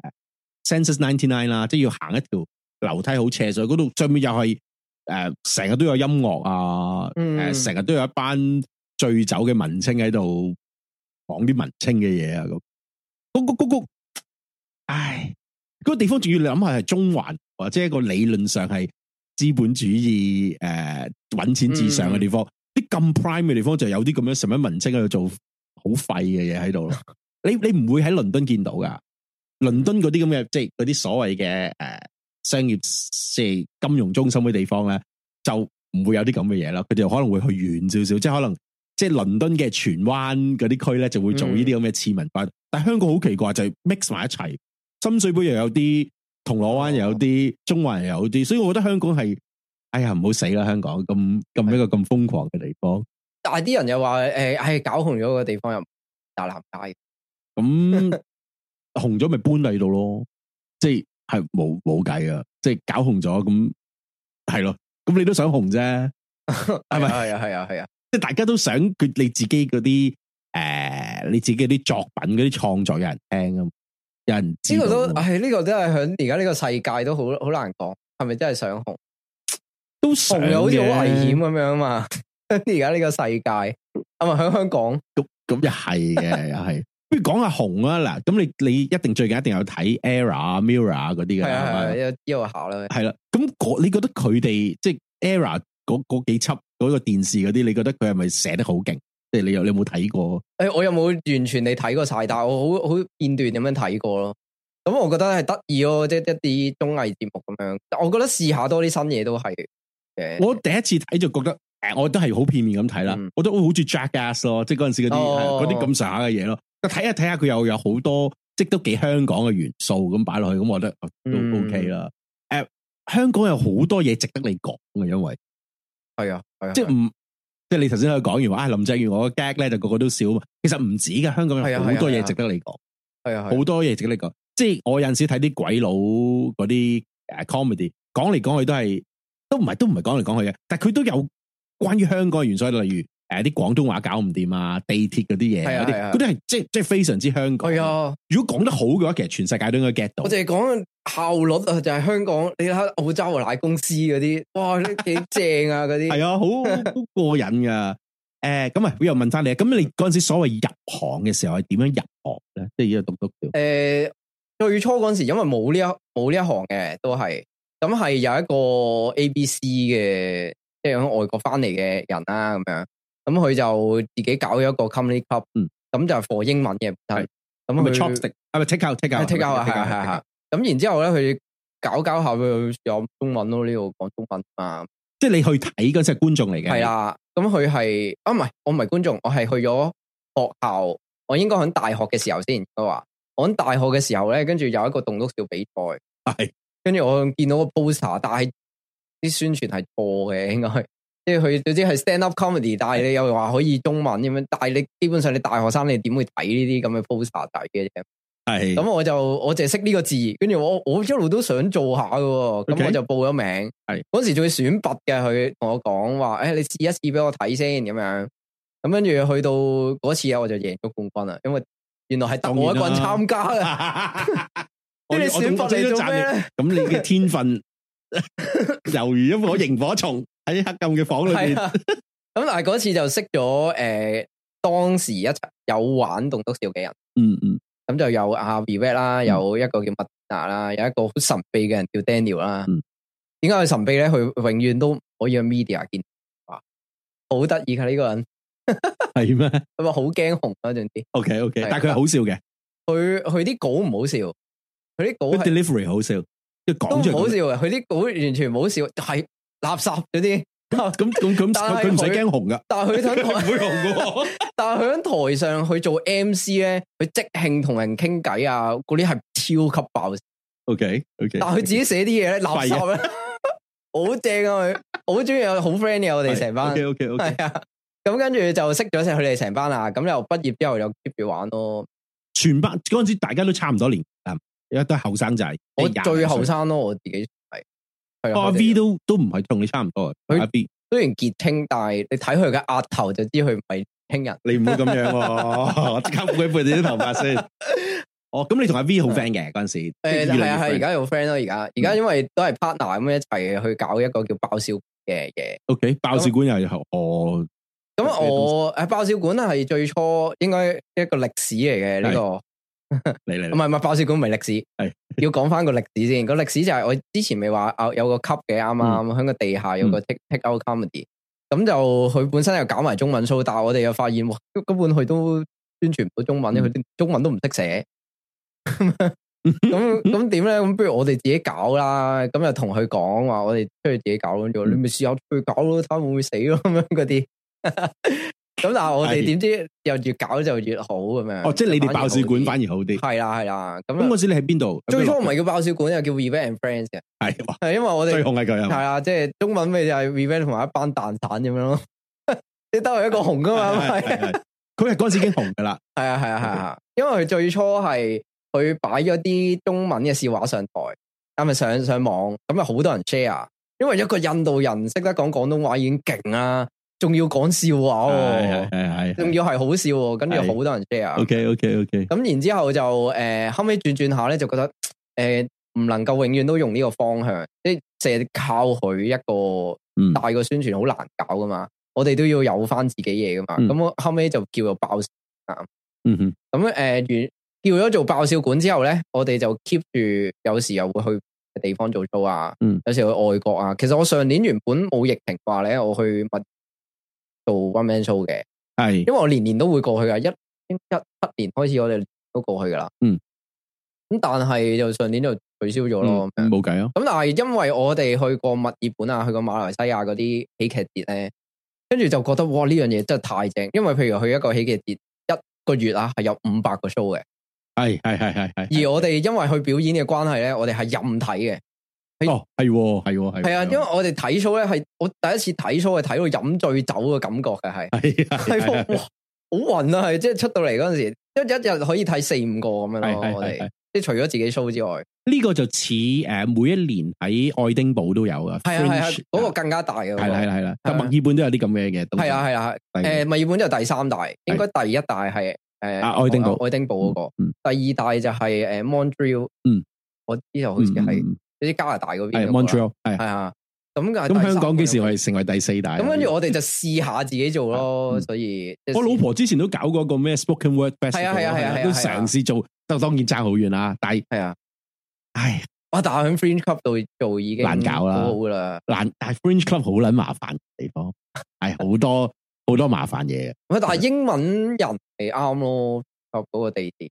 Census ninety-nine 啦，即係要行一條樓梯好斜，所以嗰度上面又係。誒，成日、呃、都有音樂啊！誒、嗯，成日、呃、都有一班醉酒嘅文青喺度講啲文青嘅嘢啊！咁，嗰個嗰個，唉，嗰、嗰個地方仲要你諗下係中環，或者一個理論上係資本主義誒搵、呃、錢至上嘅地方，啲咁、嗯、prime 嘅地方就有啲咁樣什麼文青喺度做好廢嘅嘢喺度咯。你你唔會喺倫敦見到噶，倫敦嗰啲咁嘅即係嗰啲所謂嘅誒。呃商業即係金融中心嘅地方咧，就唔會有啲咁嘅嘢啦。佢哋可能會去遠少少，即係可能即係倫敦嘅荃灣嗰啲區咧，就會做呢啲咁嘅次文化。嗯、但係香港好奇怪，就係、是、mix 埋一齊，深水埗又有啲，銅鑼灣又有啲，哦、中環又有啲，所以我覺得香港係，哎呀唔好死啦！香港咁咁一個咁瘋狂嘅地方。但係啲人又話誒，係、哎、搞紅咗個地方又大南街，咁紅咗咪搬嚟度咯，即係。係冇冇計噶，即係搞紅咗咁，係咯，咁你都想紅啫，係咪？係啊係啊係啊，即係大家都想佢你自己嗰啲誒，你自己啲作品嗰啲創作有人聽啊，有人知呢個都係呢個都係響而家呢個世界都好好難講，係咪真係想紅？都紅又好似好危險咁樣啊嘛， 而家呢個世界，係咪喺香港？ 咁咁又係嘅，又係。不如講下紅啊嗱，咁你你一定最近一定有睇 Era、Mirror 嗰啲嘅啦，係係一一下啦。 係啦，咁你覺得佢哋即係 Era 嗰嗰幾輯嗰個電視嗰啲，你覺得佢係咪寫得好勁？即係你有你有冇睇過？誒， 我有冇完全你睇過晒？但係我好好片段咁樣睇過咯。咁我覺得係得意咯，即係一啲綜藝節目咁樣。我覺得試下多啲新嘢都係嘅。 我第一次睇就覺得，誒，我都係好片面咁睇啦。我覺得好似 Jackass 咯，即係嗰陣時嗰啲嗰啲咁上下嘅嘢咯。睇下睇下佢又有好多，即係都幾香港嘅元素咁擺落去，咁我覺得都 OK 啦。誒、嗯，香港有好多嘢值得你講嘅，因為係啊，係啊， 即係唔即係你頭先喺度講完話，啊林鄭月娥個 gag 咧就個個都笑嘛。其實唔止嘅，香港有好多嘢值得你講，係啊，好多嘢值得你講。即係我有陣時睇啲鬼佬嗰啲誒 comedy，講嚟講去都係都唔係都唔係講嚟講去嘅，但係佢都有關於香港嘅元素，例如。誒，啲廣東話搞唔掂啊，地鐵嗰啲嘢，嗰啲嗰啲係即係即係非常之香港。係啊，如果講得好嘅話，其實全世界都應該 get 到。我淨係講效率啊，就係香港。你睇澳洲嘅奶公司嗰啲，哇，呢幾正啊，嗰啲係啊，好好過癮噶。誒，咁啊，我又問翻你，咁你嗰陣時所謂入行嘅時候係點樣入行咧？即係而家讀讀誒，最初嗰陣時因為冇呢一冇呢一行嘅，都係咁係有一個 A B C 嘅，即係喺外國翻嚟嘅人啦，咁樣。咁佢就自己搞咗一個 comedy club，嗯，咁就係 for 英文嘅，係咁佢 chopstick，係咪 take out take out take out 啊，係係係，咁然之後咧，佢搞搞下佢有中文咯，呢度講中文啊，即係你去睇嗰隻觀眾嚟嘅，係啦，咁佢係啊唔係，我唔係觀眾，我係去咗學校，我應該喺大學嘅時候先，佢話我喺大學嘅時候咧，跟住有一個棟篤笑比賽，係，跟住我見到個 poster，但係啲宣傳係錯嘅，應該。即係佢總之係 stand up comedy，但係你又話可以中文咁樣，但係你基本上你大學生你點會睇呢啲咁嘅 poster 睇嘅啫？係咁我就我淨係識呢個字，跟住我我一路都想做下嘅，咁、okay. 我就報咗名。係嗰時仲要選拔嘅，佢同我講話，誒、哎、你試一試俾我睇先咁樣。咁跟住去到嗰次啊，我就贏咗冠軍啦，因為原來係得我一個人參加嘅。我你選拔嚟做咩？咁你嘅天分猶如一顆螢火蟲。喺黑暗嘅房裏邊，咁但係嗰次就識咗誒、呃，當時一齊有玩棟篤笑嘅人，嗯嗯，咁就有阿 Vivet 啦，有一個叫麥娜啦，有一個好神秘嘅人叫 Daniel 啦。點解佢神秘咧？佢永遠都唔可以喺 media 見，哇，好得意噶呢個人，係咩？咁啊好驚紅嗰陣啲。OK OK，但係佢係好笑嘅，佢佢啲稿唔好笑，佢啲稿 delivery 好笑，即係講出嚟都唔好笑嘅，佢啲稿完全唔好笑，係。垃圾嗰啲，咁咁咁，佢唔使驚紅噶，但係佢喺台唔會紅噶，但係佢喺台上去做 M C 咧，佢即興同人傾偈啊，嗰啲係超級爆。OK OK，但係佢自己寫啲嘢咧，垃圾咧，好正啊！佢好中意，有好 friend 嘅我哋成班。OK OK OK，係啊，咁跟住就識咗佢哋成班啦，咁又畢業之後又 keep 住玩咯。全班嗰陣時大家都差唔多年，而家都係後生仔。我最後生咯，我自己。阿 V 都都唔係同你差唔多，佢阿 V 雖然傑青，但係你睇佢嘅額頭就知佢唔係輕人。你唔好咁樣，我即刻背背你啲頭髮先。哦，咁你同阿 V 好 friend 嘅嗰陣時，誒係啊係，而家有 friend 咯，而家而家因為都係 partner 咁樣一齊去搞一個叫爆笑嘅嘢。OK，爆笑館又係哦。咁我誒爆笑館係最初應該一個歷史嚟嘅呢個。嚟嚟，唔係唔係爆笑館唔係歷史，係要講翻個歷史先。個歷史就係我之前咪話啊有個級嘅，啱啱喺個地下有個 take take out comedy，咁就佢本身又搞埋中文 show，但係我哋又發現哇根本佢都宣傳唔到中文，佢啲中文都唔識寫。咁咁點咧？咁不如我哋自己搞啦。咁就同佢講話，我哋出去自己搞咯。你咪試下出去搞咯，睇下會唔會死咯咁樣嗰啲。咁但係我哋點知又越搞就越好咁樣。哦，即係你哋爆笑館反而好啲。係啦係啦。咁嗰時你喺邊度？最初唔係叫爆笑館，又叫 Vivet and Friends 嘅。係係因為我哋最紅係佢。係啊，即係中文咪就係 Vivet 同埋一班蛋散咁樣咯。你得佢一個紅噶嘛？係佢係嗰陣時已經紅噶啦。係啊係啊係啊，因為佢最初係佢擺咗啲中文嘅笑話上台，咁咪上上網，咁啊好多人 share。因為一個印度人識得講廣東話已經勁啦。仲要講笑話喎，係係，仲要係好笑喎，跟住好多人 share。OK OK OK。咁然之後就誒、呃、後尾轉轉下咧，就覺得誒唔、呃、能夠永遠都用呢個方向，即係成日靠佢一個大個宣傳好難搞噶嘛。嗯、 我哋都要有翻自己嘢噶嘛。咁、嗯、我後尾就叫做爆笑館。嗯哼。咁誒，完、呃、叫咗做爆笑館之後咧，我哋就 keep 住有時又會去地方做 show 啊。嗯。有時去外國啊。其實我上年原本冇疫情話咧，我去密做 one man show 嘅。係。因為我年年都會過去噶，一一七年開始我哋都過去噶啦。嗯。咁但係就上年就取消咗咯，冇計啊！咁但係因為我哋去過墨爾本啊，去過馬來西亞嗰啲喜劇節咧，跟住就覺得哇呢樣嘢真係太正，因為譬如去一個喜劇節一個月啊係有五百個 show 嘅，係係係係係。而我哋因為去表演嘅關係咧，我哋係任睇嘅。哦，係係係係啊！因為我哋睇 show 咧係我第一次睇 show 係睇到飲醉酒嘅感覺嘅係係係哇好暈啊！係即係出到嚟嗰陣時，一一日可以睇四五個咁樣咯，我哋。即係除咗自己 show 之外，呢個就似誒每一年喺愛丁堡都有噶，係啊係啊，嗰個更加大嘅，係啦係啦係啦，但墨爾本都有啲咁嘅嘅，係啊係啊，誒墨爾本就第三大，應該第一大係誒愛丁堡愛丁堡嗰個，第二大就係誒 Montreal，嗯，我知道好似係啲加拿大嗰邊，Montreal 係係啊，咁咁香港幾時我哋成為第四大？咁跟住我哋就試下自己做咯，所以我老婆之前都搞過個咩 Spoken Word Festival，係啊係啊係啊，都嘗試做。就當然爭好遠啦，但係係啊，唉，我但係喺 Fringe Club 度做已經難搞啦，好好啦，難，但係 Fringe Club 好撚麻煩地方，係好多好多麻煩嘢嘅。喂，但係英文人係啱咯，嗰個地點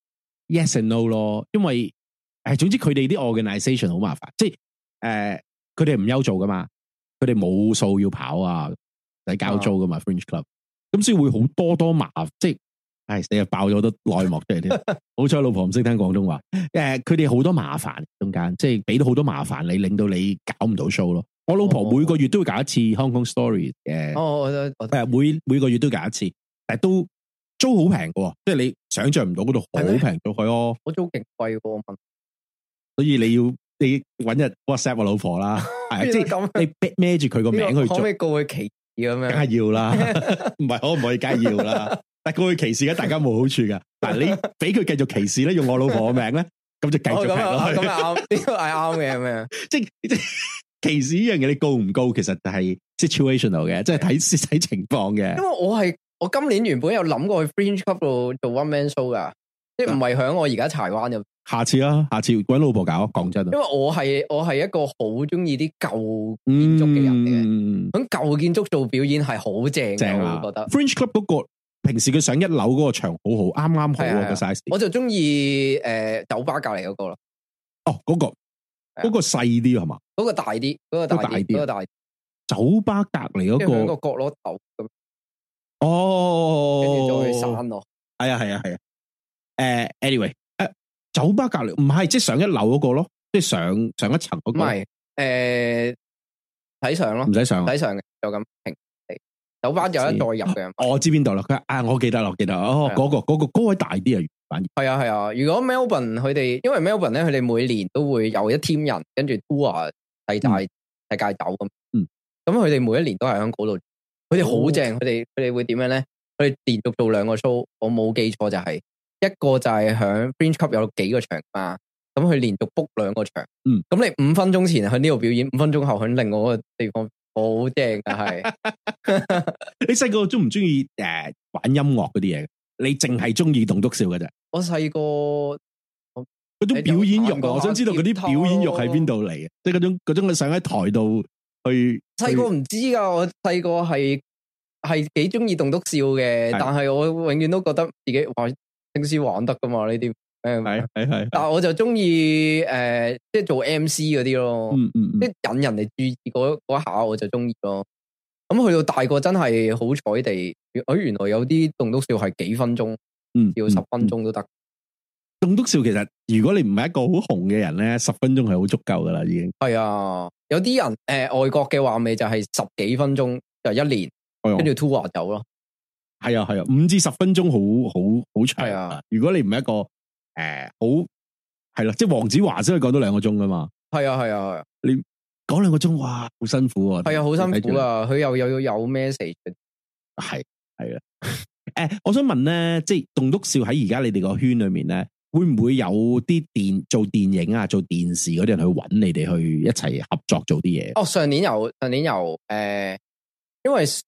，yes and no 咯，因為誒，總之佢哋啲 organisation 好麻煩，即係誒，佢哋唔憂做噶嘛，佢哋冇數要跑啊，使交租噶嘛 Fringe Club，咁所以會好多多麻煩，即係。係你又爆咗好多內幕出嚟添，好彩老婆唔識聽廣東話。誒，佢哋好多麻煩中間，即係俾到好多麻煩你，令到你搞唔到 show 咯。我老婆每個月都會搞一次 Hong Kong Story 嘅，哦，我誒每每個月都搞一次，但係都租好平嘅，即係你想象唔到嗰度好平到去哦。我租勁貴喎，所以你要你搵日 WhatsApp 我老婆啦，係即係你孭住佢個名去做，可唔可以告佢歧視咁樣？梗係要啦，唔係可唔可以？梗係要啦。但過去歧視嘅大家冇好處噶，但係你俾佢繼續歧視咧，用我老婆嘅名咧，咁就繼續係咯。咁啊啱，呢個係啱嘅，係咩？即係即係歧視呢樣嘢，你告唔告？其實就係 situational 嘅，即係睇睇情況嘅。因為我係我今年原本有諗過去 Fringe Club 度做 one man show 噶，即係唔係響我而家柴灣入。下次啊，下次搵老婆搞，講真。因為我係我係一個好中意啲舊建築嘅人嚟嘅，響舊建築做表演係好正嘅，我覺得。Fringe Club 嗰個。平時佢上一樓嗰個場好好，啱啱好啊個 size。我就中意誒酒吧隔籬嗰個咯。哦，嗰個嗰個細啲係嘛？嗰個大啲，嗰個大啲，嗰個大。酒吧隔籬嗰個一個角落頭咁。哦，跟住再散咯。係啊係啊係啊。誒，anyway，誒，酒吧隔籬唔係即係上一樓嗰個咯，即係上上一層嗰個。唔係，誒，睇上咯，唔使上，睇上嘅就咁平。酒吧有一再入嘅，我知邊度啦。佢啊，我記得啦，我記得哦，嗰個嗰個嗰位大啲啊，反而係啊係啊。如果 Melbourne 佢哋，因為 Melbourne 咧，佢哋每年都會有一 team 人跟住 tour 世界世界走咁。嗯，咁佢哋每一年都係喺嗰度，佢哋好正。佢哋佢哋會點樣咧？佢哋連續做兩個 show，我冇記錯就係一個就係響 Fringe Club 有幾個場嘛。咁佢連續 book 兩個場。嗯，咁你五分鐘前喺呢度表演，五分鐘後喺另外一個地方。好正啊！係你細個中唔中意誒玩音樂嗰啲嘢？你淨係中意棟篤笑嘅啫。我細個嗰種表演欲，我想知道嗰啲表演欲喺邊度嚟嘅？即係嗰種嗰種上喺台度去。細個唔知噶，我細個係係幾中意棟篤笑嘅，但係我永遠都覺得自己話平時玩得噶嘛呢啲。誒，係係係，但係我就中意誒，即係做 M C 嗰啲咯，嗯嗯，即係引人哋注意嗰嗰下，我就中意咯。咁去到大個真係好彩地，誒，原來有啲棟篤笑係幾分鐘，嗯，要十分鐘都得。棟篤笑其實如果你唔係一個好紅嘅人咧，十分鐘係好足夠噶啦，已經。係啊，有啲人誒、呃，外國嘅話咪就係十幾分鐘就一年，跟住 tour 走咯。係啊係啊，五至十分鐘好好好長。係啊，如果你唔係一個。誒、呃，好係啦，即係黃子華先可以講到兩個鐘噶嘛。係啊係啊係啊，你講兩個鐘，哇，好辛苦啊。係啊，好辛苦啊。佢又又要有 message。係係啊。誒、呃，我想問咧，即係棟篤笑喺而家你哋個圈裏面咧，會唔會有啲電做電影啊、做電視嗰啲人去揾你哋去一齊合作做啲嘢？哦，上年有，上年有，誒、呃，因為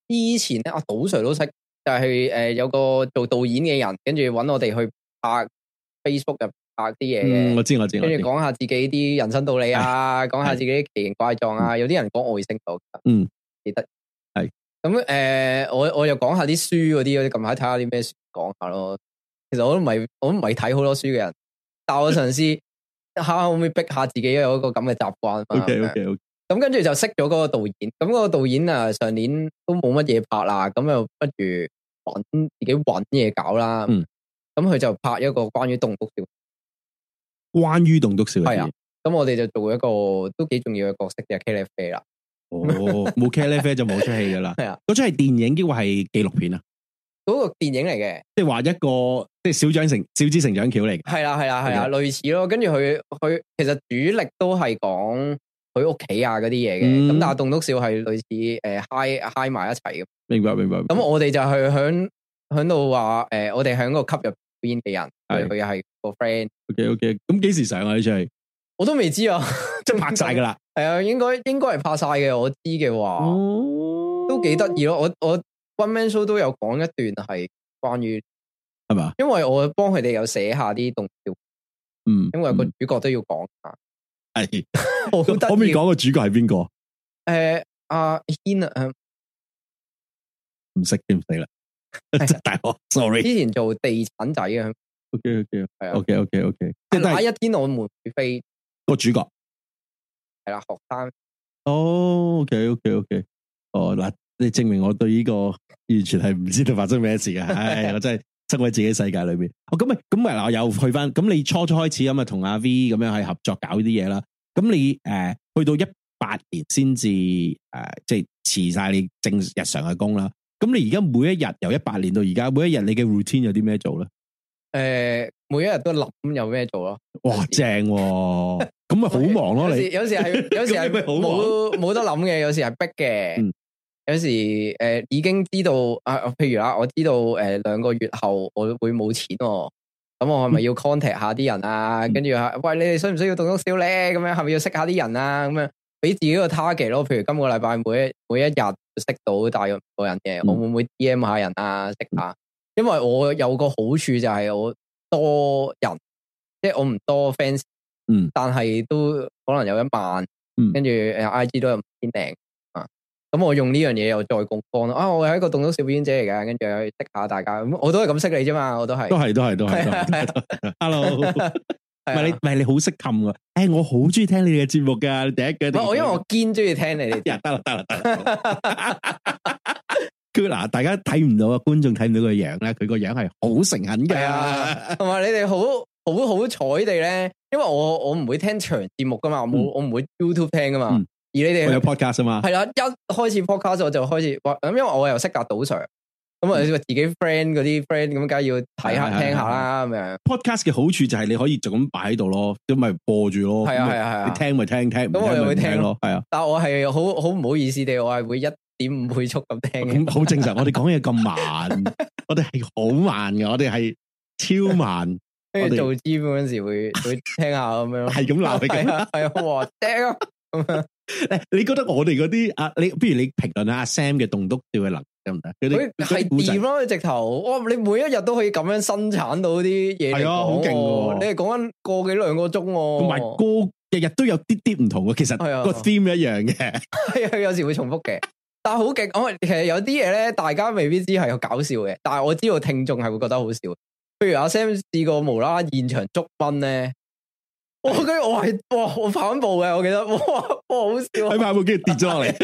之前咧，阿賭 Sir 都識，就係、是、誒、呃、有個做導演嘅人，跟住揾我哋去拍 Facebook 入拍啲嘢嘅。 我知我知， 跟住講下自己啲人生道理啊，講下自己啲奇形怪狀啊。有啲人講外星度，嗯，記得係。咁誒、呃，我我又講下啲書嗰啲，我近排睇下啲咩書講下咯。其實我都唔係，我都唔係睇好多書嘅人，但我嘗試下可唔可以逼下自己有一個咁嘅習慣。 OK OK OK。 咁跟住就識咗嗰個導演，咁嗰個導演啊上年都冇乜嘢拍啦，咁又不如揾自己揾嘢搞啦。嗯，咁佢就拍一個關於棟篤笑， 關於棟篤笑係啊。咁我哋就做一個都幾重要嘅角色嘅茄喱啡啦。 哦，冇茄喱啡就冇出戲噶啦。係啊，嗰出係電影抑或係紀錄片啊？ 嗰個電影嚟嘅， 即係話一個即係小長成小子成長橋嚟嘅。係啦係啦係啦，類似咯。跟住佢佢其實主力都係講佢屋企啊嗰啲嘢嘅，咁、嗯、但係棟篤笑係類似誒嗨嗨埋一齊嘅。明白明白。咁我哋就去響響度話誒，我哋響個級入邊嘅人，佢又係個 friend。OK OK， 咁幾時上啊呢出戲？ 我都未知啊， 即係拍晒噶啦。 係啊，應該應該係拍晒嘅。我知嘅話，哦、都幾得意咯。我我 One Man Show 都有講一段係關於係嘛，因為我幫佢哋有寫下啲棟笑，嗯，因為個主角都要講下。係， 可唔可以講個主角係邊個？ 誒，阿軒啊， 唔識點死啦，大學 sorry。 之前做地產仔啊。 OK OK 係啊 OK OK OK， 即係哪一天我們會飛個主角係啦，學生。 哦 OK OK OK， 哦嗱，你證明我對呢個完全係唔知道發生咩事嘅，唉，我真係生喺自己世界裏邊。哦，咁咪咁咪嗱，我又去翻，咁你初初開始咁啊，同阿 V 咁樣係合作搞啲嘢啦。咁你誒、呃、去到一八年先至誒，即係辭晒你正日常嘅工啦。咁你而家每一日由一八年到而家，每一日你嘅 routine 有啲咩做咧？ 誒、呃，每一日都諗有咩做咯。 哇，正喎、啊！咁咪好忙咯。你有時係有時係冇冇得諗嘅，有時係逼嘅。嗯、有時誒、呃、已經知道啊，譬如啦，我知道誒兩、呃、個月後我會冇錢、哦，咁我係咪要 contact 下啲人啊？跟住啊，喂，你哋需唔需要棟篤笑咧？咁樣係咪要識下啲人啊？咁樣俾自己個 target 咯。譬如今個禮拜每一每一日識到大約五個人嘅，嗯、我會唔會 D M 下人啊？識下。因為我有個好處就係我多人，即係我唔多 fans，嗯，但係都可能有一萬，嗯，跟住誒 I G 都有五千零啊，咁我用呢樣嘢又再槓桿咯，啊，我係一個棟篤笑表演者嚟嘅，跟住去識下大家，咁我都係咁識你啫嘛，我都係，都係都係都係，Hello，唔係你唔係你好識冚噶，誒，我好中意聽你哋嘅節目噶，第一句，我因為我堅中意聽你哋，得啦得啦得啦。嗱，大家睇唔到啊，觀眾睇唔到個樣咧，佢個樣係好誠懇嘅，同埋你哋好好好彩地咧，因為我我唔會聽長節目噶嘛，我冇、嗯、我唔會 YouTube 聽噶嘛，嗯、而你哋有 podcast 啊嘛，係啦，一開始 podcast 我就開始，咁因為我又識架賭 Sir，咁啊自己 friend 嗰啲 friend 咁，梗係要睇下、嗯、聽下啦咁樣。podcast 嘅好處就係你可以就咁擺喺度咯，咁咪播住咯，係啊係啊係啊，你聽咪聽聽，咁我又會聽咯，係啊。但係我係好好唔好意思地，我係會一點五倍速咁聽嘅，咁好正常。我哋講嘢咁慢，我哋係好慢嘅，我哋係超慢。跟住做 gym 嗰陣時會會聽下咁樣，係咁鬧你嘅，係啊，哇，正啊！誒，你覺得我哋嗰啲啊，你不如你評論下阿 Sam 嘅棟篤笑嘅能力得唔得？佢係掂咯，直頭，哇！你每一日都可以咁樣生產到啲嘢，係啊，好勁嘅。你係講緊個幾兩個鐘，同埋個日日都有啲啲唔同嘅，其實個 theme 一樣嘅，係啊，有時會重複嘅。但係好勁，我其實有啲嘢咧，大家未必知係有搞笑嘅，但係我知道聽眾係會覺得好笑。譬如阿 Sam 試過無啦啦現場捉蚊咧，我跟住我係哇，我跑緊步嘅，我記得哇哇好笑，喺跑步機跌咗落嚟，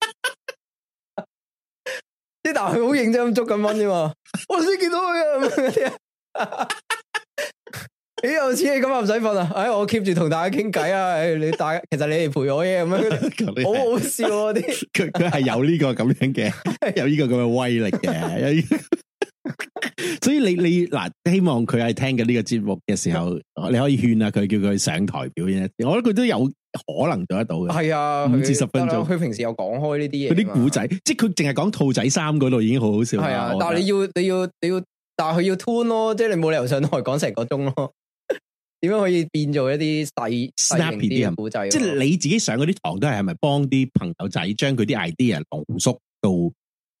啲但係佢好認真咁捉緊蚊啫嘛，我先見到佢啊！咦，有錢你咁又唔使瞓啊？哎，我 keep 住同大家傾偈啊！哎，你大家其實你哋陪我嘅咁樣，好好笑啊！啲佢佢係有呢個咁樣嘅，有呢個咁嘅威力嘅。所以你你嗱，希望佢係聽緊呢個節目嘅時候，你可以勸下佢，叫佢上台表演一啲。我覺得佢都有可能做得到嘅。係啊，五至十分鐘。佢平時有講開呢啲嘢，嗰啲古仔，即係佢淨係講兔仔衫嗰度已經好好笑。係啊，但係你要你要你要，但係佢要 tune 咯，即係你冇理由上台講成個鐘咯。點樣可以變做一啲細 snappy 啲嘅古仔？即係你自己上嗰啲堂都係係咪幫啲朋友仔將佢啲 idea 濃縮到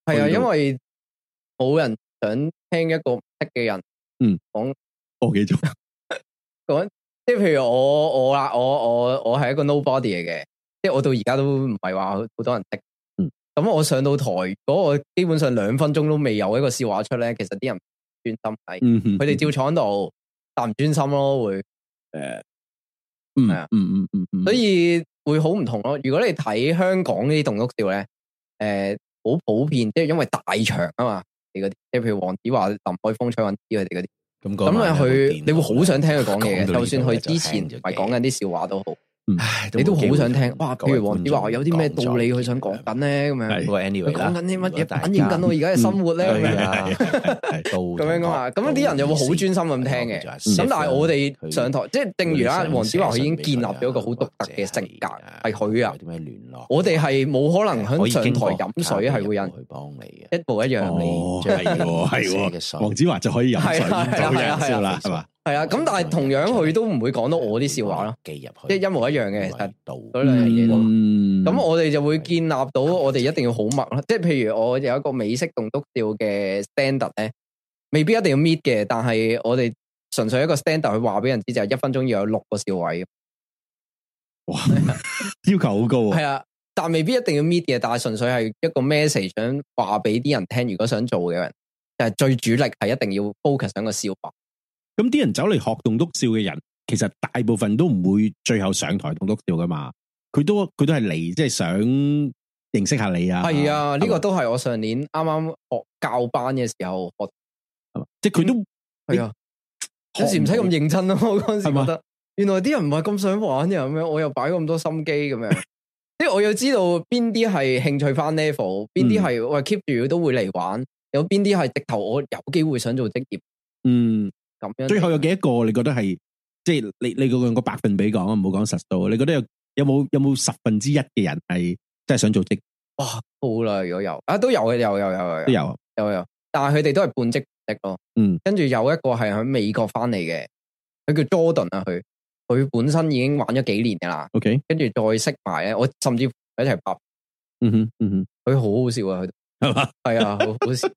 係啊，因為冇人想聽一個唔識嘅人， 嗯， 講個幾鐘， 講即係譬如我我啦，我我我係一個 nobody 嚟嘅，即係我到而家都唔係話好多人識。 嗯， 咁我上到台，如果我基本上兩分鐘都未有一個笑話出咧，其實啲人唔專心睇， 嗯， 佢哋照坐喺度，但唔專心咯，會誒， 嗯， 係啊， 嗯嗯嗯嗯， 所以會好唔同咯。如果你睇香港呢啲棟篤笑咧，誒，好普遍，即係因為大場啊嘛，你嗰啲，即係譬如黃子華、林海峰、蔡允芝佢哋嗰啲。 咁咁啊，佢你會好想聽佢講嘢嘅， 講到呢度就算佢之前就唔係講緊啲笑話都好， 唉你都好想聽。 哇， 哇，譬如黃子華有啲咩道理佢想講緊咧，咁樣。 不過 anyway 佢講緊啲乜嘢， 啦反映緊我而家嘅生活咧，咁樣係係咁樣噶嘛。咁啲人又會好專心咁聽嘅。咁但係我哋上台，即係正如啦，黃子華佢已經建立咗一個好獨特嘅性格，係佢啊。我哋係冇可能喺上台飲水，係會有人去幫你嘅， 一模一樣。 哦，係係係，黃子華就可以飲水，就有人笑啦，係嘛？ 係啊，咁但係同樣佢都唔會講到我啲笑話咯， 記入去， 即係一模一樣嘅，其實嗰兩樣嘢都。咁我哋就會建立到我哋一定要好默咯，即係譬如我有一個美式棟篤笑嘅 standard 咧，未必一定要 meet 嘅，但係我哋純粹一個 standard 去話俾人知就係一分鐘要有六個笑位。 哇，要求好高啊！ 係啊，但未必一定要 meet 嘅，但係純粹係一個 message 想話俾啲人聽，如果想做嘅人，就係最主力係一定要 focus 喺個笑話。 咁啲人走嚟學棟篤笑嘅人，其實大部分都唔會最後上台棟篤笑噶嘛。佢都佢都係嚟，即係想認識下你啊。 係啊，呢個都係我上年啱啱學教班嘅時候學， 即係佢都係啊。有時唔使咁認真咯。我嗰陣時覺得，原來啲人唔係咁想玩嘅咁樣，我又擺咁多心機咁樣。即係我要知道邊啲係興趣翻 level，邊啲係我 keep 住都會嚟玩，有邊啲係直頭我有機會想做職業。 嗯。 咁樣最後有幾多個？你覺得係即係你你用個百分比講啊，唔好講實數。你覺得有有冇有冇十分之一嘅人係真係想做職？ 哇，好啦，如果有啊，都有嘅，有有有有都有有有，但係佢哋都係半職職咯。嗯，跟住有一個係喺美國翻嚟嘅，佢叫 Jordan 啊，佢佢本身已經玩咗幾年噶啦。 OK，跟住再識埋咧，我甚至乎一齊拍。 嗯哼嗯哼， 佢好好笑啊，佢係嘛？係啊，好好笑。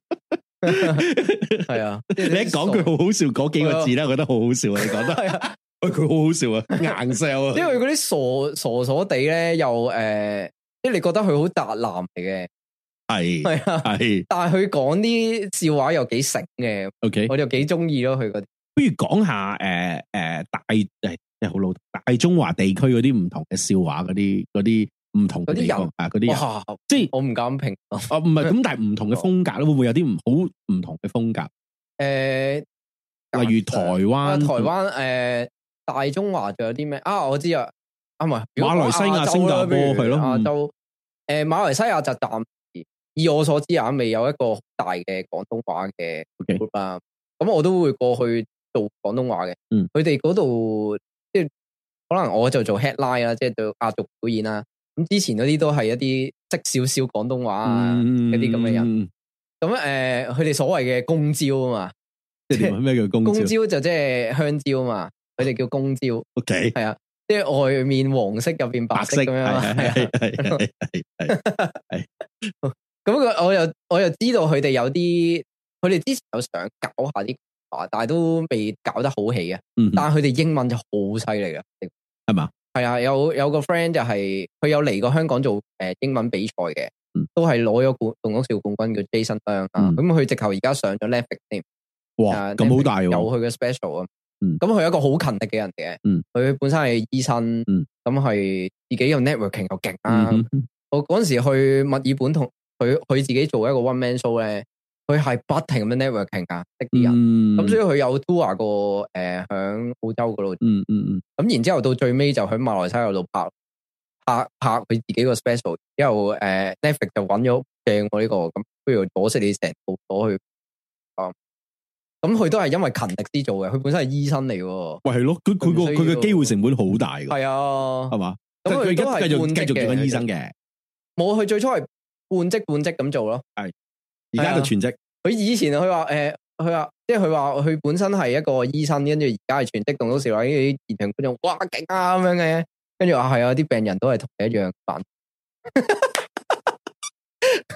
係啊，你一講句好好笑嗰幾個字咧，我覺得好好笑啊！你講得係啊，喂，佢好好笑啊，硬 sell 啊！因為嗰啲傻傻傻地咧，又誒，即係你覺得佢好宅男嚟嘅，係係啊係，但係佢講啲笑話又幾醒嘅。OK，我就幾中意咯，佢嗰啲。不如講下誒誒大誒即係好老大中華地區嗰啲唔同嘅笑話，嗰啲嗰啲。唔同嘅地方啊，嗰啲人，即係我唔敢評。哦，唔係咁，但係唔同嘅風格咧，會唔會有啲唔好唔同嘅風格？誒，例如台灣，台灣誒，大中華仲有啲咩啊？我知啊，啊唔係馬來西亞、新加坡係咯，亞洲誒，馬來西亞就暫時以我所知啊，未有一個大嘅廣東話嘅 group 啦。咁我都會過去做廣東話嘅。嗯，佢哋嗰度即係可能我就做 headline 啦，即係做壓軸表演啦。咁之前嗰啲都係一啲識少少廣東話啊，嗰啲咁嘅人。咁誒、嗯，佢哋、呃、所謂嘅公招啊嘛，即係咩叫公招？公招就即係香蕉啊嘛，佢哋叫公招。O K，係啊，即係外面黃色，入邊白色咁樣。係係係係係。咁佢我又我又知道佢哋有啲，佢哋之前有想搞下啲話，但係都未搞得好起嘅。嗯、但係佢哋英文就好犀利嘅，係嘛？係啊，有有個 friend 就係、是、佢有嚟過香港做誒、呃、英文比賽嘅，嗯、都係攞咗冠棟篤笑冠軍叫 Jason Young 啊。咁佢直頭而家上咗 Netflix 添。哇，咁好、呃、大喎！有佢嘅 special 啊。咁佢係一個好勤力嘅人嘅。佢、嗯、本身係醫生，咁係、嗯、自己有 networking 又勁啊。嗯、我嗰陣時去墨爾本同佢佢自己做一個 one man show 咧。佢係不停咁樣 networking 噶，識啲人，咁、嗯、所以佢有 tour 過誒，響澳洲嗰度，嗯嗯嗯，咁然之後到最尾就喺馬來西亞度拍拍拍佢自己個 special，之後誒 Netflix 就揾咗正我呢個，咁不如攞識你成部攞去，啊，咁佢都係因為勤力先做嘅，佢本身係醫生嚟嘅，喂係咯，佢佢個佢嘅機會成本好大嘅，係啊，係嘛，咁佢而家繼續繼續做緊醫生嘅，冇，佢最初係半職半職咁做咯，係。而家就全職。佢以前佢話誒，佢話即係佢話佢本身係一個醫生，跟住而家係全職棟篤笑，話啲現場觀眾哇勁啊咁樣嘅，跟住話係啊，啲病人都係同你一樣煩。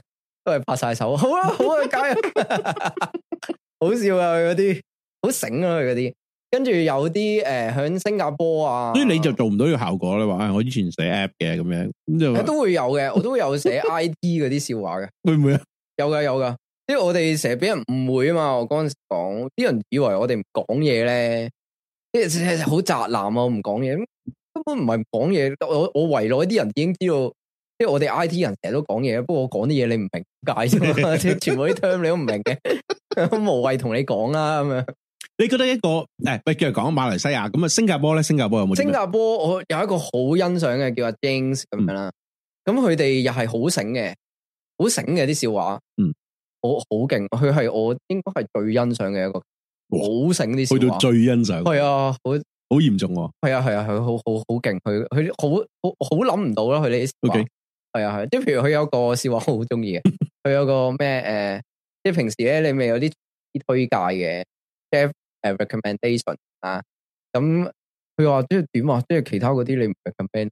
都係拍晒手，好啊好啊，加油！好笑啊，佢嗰啲好醒啊，佢嗰啲。跟住有啲誒喺新加坡啊， 所以你就做唔到呢個效果咧。話我以前寫 app 嘅咁樣，咁就都會有嘅，我都會有寫 I T 嗰啲笑話嘅， 會唔會啊？ 有噶有噶，因為我哋成日俾人誤會啊嘛。我嗰陣時講，啲人以為我哋唔講嘢咧，即係好宅男啊，唔講嘢，根本唔係唔講嘢。我我圍內啲人已經知道，即係我哋 I T 人成日都講嘢，不過我講啲嘢你唔明解啫嘛，即係全部啲 term 你都唔明嘅，無謂同你講啦咁樣。 你覺得一個誒，喂，繼續講馬來西亞咁啊？新加坡咧，新加坡有冇？ 新加坡我有一個好欣賞嘅叫阿 James 咁樣啦，咁佢哋又係好醒嘅，好醒嘅啲笑話，嗯，好好勁。佢係我應該係最欣賞嘅一個，好醒啲笑話，去到最欣賞，係啊，好好嚴重，係啊係啊，佢好好好勁，佢佢好好好諗唔到啦，佢哋啲笑話，係啊係，即係譬如佢有個笑話好中意嘅，佢有個咩誒，即係平時咧你咪有啲推介嘅 Jeff 誒 recommendation 啊，咁佢話即係點啊？即係其他嗰啲你唔 recommend，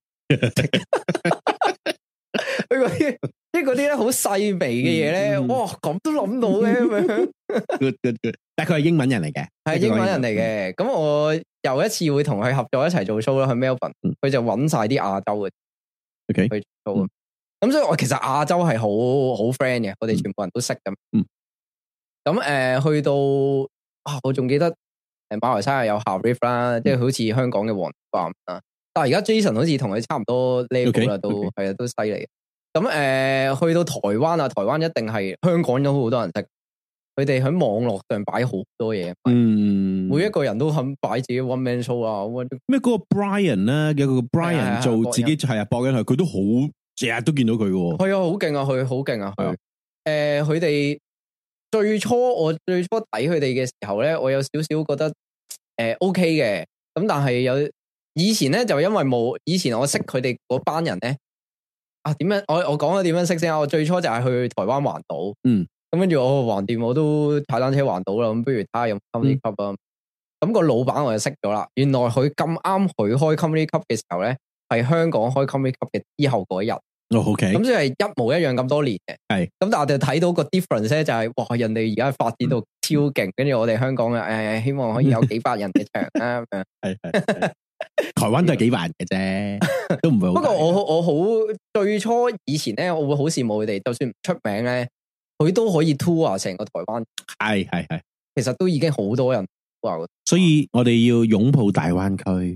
佢嗰啲即係嗰啲咧好細微嘅嘢咧，哇咁都諗到嘅咁樣。Good good good，但係佢係英文人嚟嘅，係英文人嚟嘅。咁我有一次會同佢合作一齊做 show 啦，去 Melbourne，佢就揾晒啲亞洲嘅，OK 去做。咁所以我其實亞洲係好好 friend 嘅，我哋全部人都識咁。咁誒去到。啊！我仲記得誒馬來西亞有夏 Riff 啦，即係好似香港嘅黃冠啊。但係而家 Jason 好似同佢差唔多 level 啦，都係啊，都犀利。咁誒去到台灣啊，台灣一定係香港有好多人識。佢哋喺網絡上擺好多嘢，嗯，每一個人都肯擺自己 one man show 啊。 咩嗰個 Brian 咧，有個 Brian 做自己係啊，博緊佢，佢都好成日都見到佢嘅。係啊，好勁啊！佢好勁啊！佢誒佢哋。最初我最初睇佢哋嘅時候咧，我有少少覺得誒、呃、OK 嘅，咁但係有以前咧就因為冇以前我識佢哋嗰班人咧啊，點樣我我講咗點樣識先啊？我最初就係去台灣環島，嗯，咁跟住我橫掂我都踩單車環島啦，咁不如睇下有 comedy club 啊，咁、嗯、個老闆我就識咗啦。原來佢咁啱佢開 comedy club 嘅時候咧，係香港開 comedy club 嘅之後嗰一日。哦 OK，咁即係一模一樣咁多年嘅，係，咁但係我哋睇到個 difference 咧，就係哇，人哋而家發展到超勁，跟住我哋香港嘅誒，希望可以有幾百人嘅場啦，咁樣，係係，台灣都係幾萬嘅啫，都唔會好。不過我我好最初以前咧，我會好羨慕佢哋，就算唔出名咧，佢都可以 tour 成個台灣，係係係，其實都已經好多人話，所以我哋要擁抱大灣區。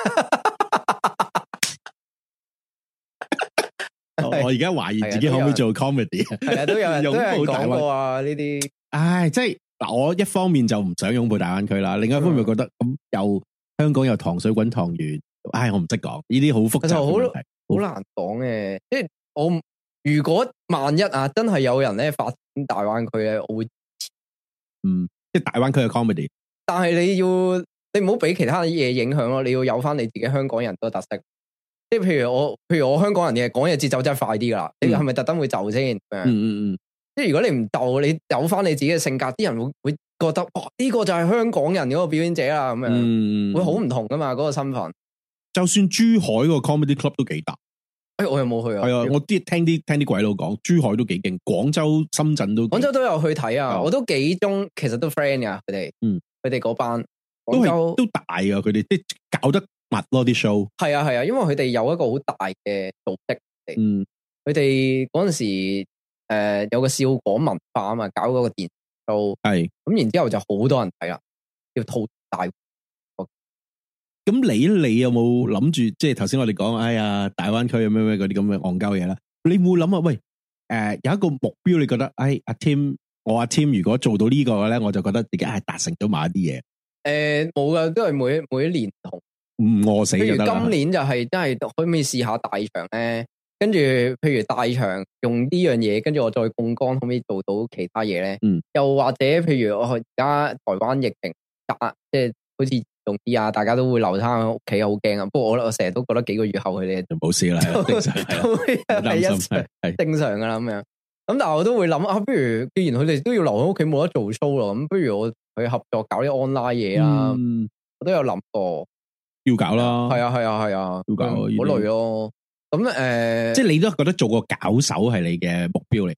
我而家懷疑自己可唔可以做 comedy？ 係啊，都有人擁抱大灣區啊呢啲。唉，即係嗱，我一方面就唔想擁抱大灣區啦，另一方面覺得咁又香港有糖水滾湯圓，唉，我唔識講呢啲好複雜嘅問題，好難講嘅。即係我如果萬一啊，真係有人咧發展大灣區咧，我會嗯，即係大灣區嘅 comedy。但係你要你唔好俾其他嘢影響咯，你要有翻你自己香港人個特色。即係譬如我，譬如我香港人嘅講嘢節奏真係快啲噶啦，嗯、你係咪特登會就先？嗯嗯嗯。即係如果你唔就，你有翻你自己嘅性格，啲人會會覺得哇，呢、這個就係香港人嗰個表演者啦，咁樣，嗯、會好唔同噶嘛？嗰、那個身份。就算珠海個 comedy club 都幾大。誒、哎，我又冇去啊。係啊，我啲聽啲聽啲鬼佬講，珠海都幾勁，廣州、深圳都。廣州都有去睇啊，嗯、我都幾中，其實都 friend 噶佢哋。嗯，佢哋嗰班都係都大啊，佢哋即係搞得。密咯啲 show，係啊係啊，因為佢哋有一個好大嘅組織，嗯，佢哋嗰陣時誒、呃、有個笑果文化啊嘛，搞嗰個電 show，係，咁然之後就好多人睇啦，叫吐大。咁你你有冇諗住，即係頭先我哋講，哎呀大灣區有咩咩嗰啲咁嘅戇鳩嘢啦？你會諗啊？喂，誒、呃、有一個目標，你覺得，哎阿 Tim，我阿 Tim 如果做到呢個嘅咧，我就覺得自己係達成咗某一啲嘢。誒冇噶，都係每一每一年唔同。唔餓死就得啦。譬如今年就係真係可唔可以試下大場咧？跟住譬如大場用呢樣嘢，跟住我再槓桿，可唔可以做到其他嘢咧？嗯。又或者譬如我而家台灣疫情打，即係好似重啲啊，大家都會留翻喺屋企，好驚啊。不過我我成日都覺得幾個月後佢哋就冇事啦，正常係一係正常噶啦咁樣。咁但係我都會諗啊，不如既然佢哋都要留喺屋企冇得做 show 咯，咁不如我去合作搞啲 online 嘢啦。嗯。我都有諗過。要搞啦，係啊係啊係啊，要搞好累咯。咁誒，呃、即係你都覺得做個搞手係你嘅目標嚟？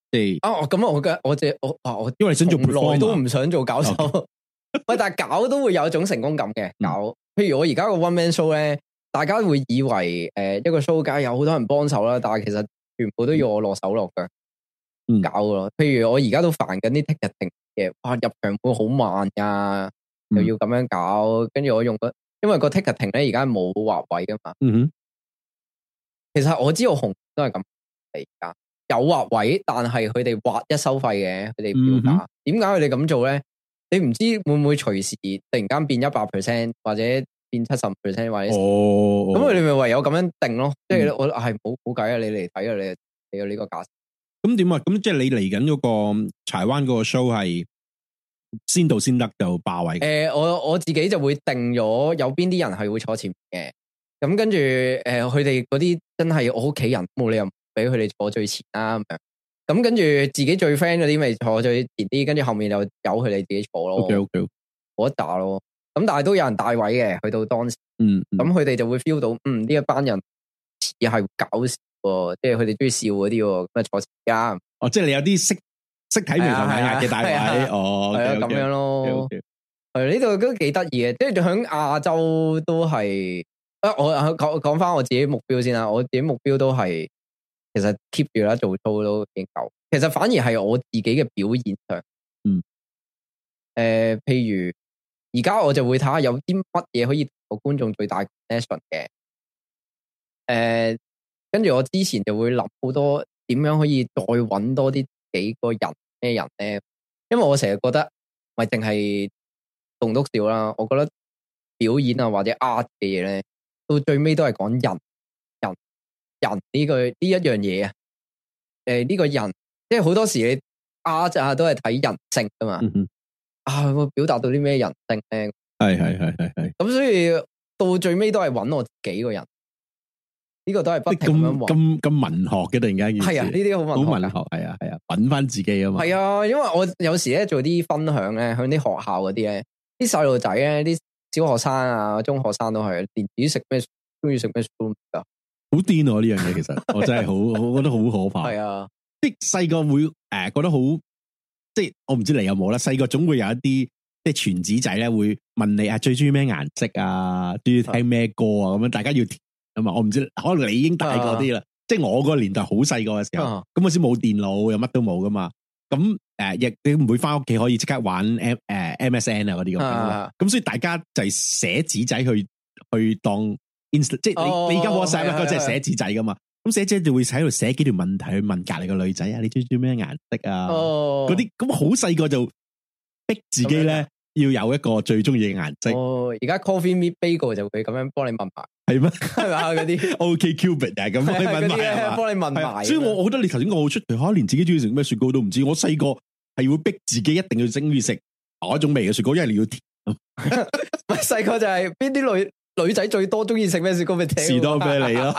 即係啊，咁我嘅我只我啊我， 因為你想做 performer 都唔想做搞手。喂，但係搞都會有一種成功感嘅搞。譬如我而家個 one man show 咧，大家會以為誒一個 show 梗有好多人幫手啦，但係其實全部都要我落手落腳搞咯。譬如我而家都煩緊啲 ticketing 嘅，哇入場會好慢噶，又要咁樣搞，跟住我用個，因為個 ticketing 咧而家冇劃位噶嘛。嗯哼，其實我知道紅都係咁嚟噶，有劃位，但係佢哋劃一收費嘅，佢哋票價。點解佢哋咁做咧？你唔知會唔會隨時突然間變一百 percent 或者變七十 percent 或者哦，咁佢哋咪唯有咁樣定咯。即係我係冇冇計啊！你嚟睇啊！你你有呢個價錢。咁點啊？咁即係你嚟緊嗰個柴灣嗰個 show 係先到先得就霸位。誒、呃，我我自己就會定咗有邊啲人係會坐前面嘅。咁跟住誒，佢哋嗰啲真係我屋企人，冇理由俾佢哋坐最前啦咁樣。咁跟住自己最 friend 嗰啲咪坐最前啲，跟住後面就由佢哋自己坐咯。OK OK，我一打咯。咁但係都有人帶位嘅，去到當時，嗯，咁佢哋就會 feel 到，嗯，呢一班人似係搞笑，即係佢哋中意笑嗰啲，咁啊坐前間。哦，即係你有啲識識睇眉頭眼額嘅帶位，哦，係啊，咁樣咯。係呢度都幾得意嘅，即係響亞洲都係。啊，我講講翻我自己目標先啦，我自己目標都係。其實 keep 住啦，做 show 都已經夠。其實反而係我自己嘅表演上，嗯，誒、呃，譬如而家我就會睇下有啲乜嘢可以同個觀眾最大 connection 嘅。誒、呃，跟住我之前就會諗好多點樣可以再搵多啲幾個人咩人咧？因為我成日覺得唔係淨係棟篤笑啦，我覺得表演啊或者 art 嘅嘢咧，到最尾都係講人。人呢個呢一樣嘢啊，誒呢個人，即係好多時你啊啊都係睇人性噶嘛，嗯、啊我表達到啲咩人性咧？係係係係係。咁所以到最尾都係揾我自己個人，呢、這個都係不停咁樣揾。咁咁文學嘅突然間，係啊，呢啲好文學，好文學，係啊係啊，揾翻自己啊嘛。係啊，因為我有時咧做啲分享咧，向啲學校嗰啲咧，啲細路仔咧，啲小學生啊、中學生都係，連自己食咩中意食咩都唔得。好癲啊！呢樣嘢其實我真係好，我覺得好可怕。係啊，即係細個會誒、呃、覺得好，即係我唔知你有冇啦。細個總會有一啲即係傳子仔咧，會問你啊，最中意咩顏色啊，中意聽咩歌啊，咁樣大家要填啊嘛。我唔知，可能你已經大個啲啦。即係我個年代好細個嘅時候，咁嗰時冇電腦，又乜都冇噶嘛。咁誒，亦你唔會翻屋企可以即刻玩 M 誒 M S N 啊嗰啲咁。咁所以大家就係寫紙仔去去當。Inst- 即係你、oh, 你而家 WhatsApp 咧，即係寫紙仔噶嘛？咁寫紙就會喺度寫幾條問題去問隔籬個女仔啊，你中意咩顏色啊？嗰啲咁好細個就逼自己咧要有一個最中意嘅顏色。哦，而家 Coffee Meet Bagel 就會咁樣幫你問埋，係咩？係嘛嗰啲 OK Cupid 啊，咁幫你問埋，幫你問埋。所以我我覺得你頭先講好出奇，吓連自己中意食咩雪糕都唔知。我細個係會逼自己一定要中意食嗰一種味嘅雪糕，因為你要甜。唔係細個就係邊啲女？女仔最多中意食咩雪糕？咪士多啤梨咯。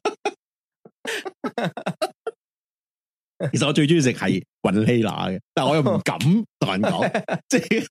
其實我最中意食係雲希拿嘅，但係我又唔敢同人講，即係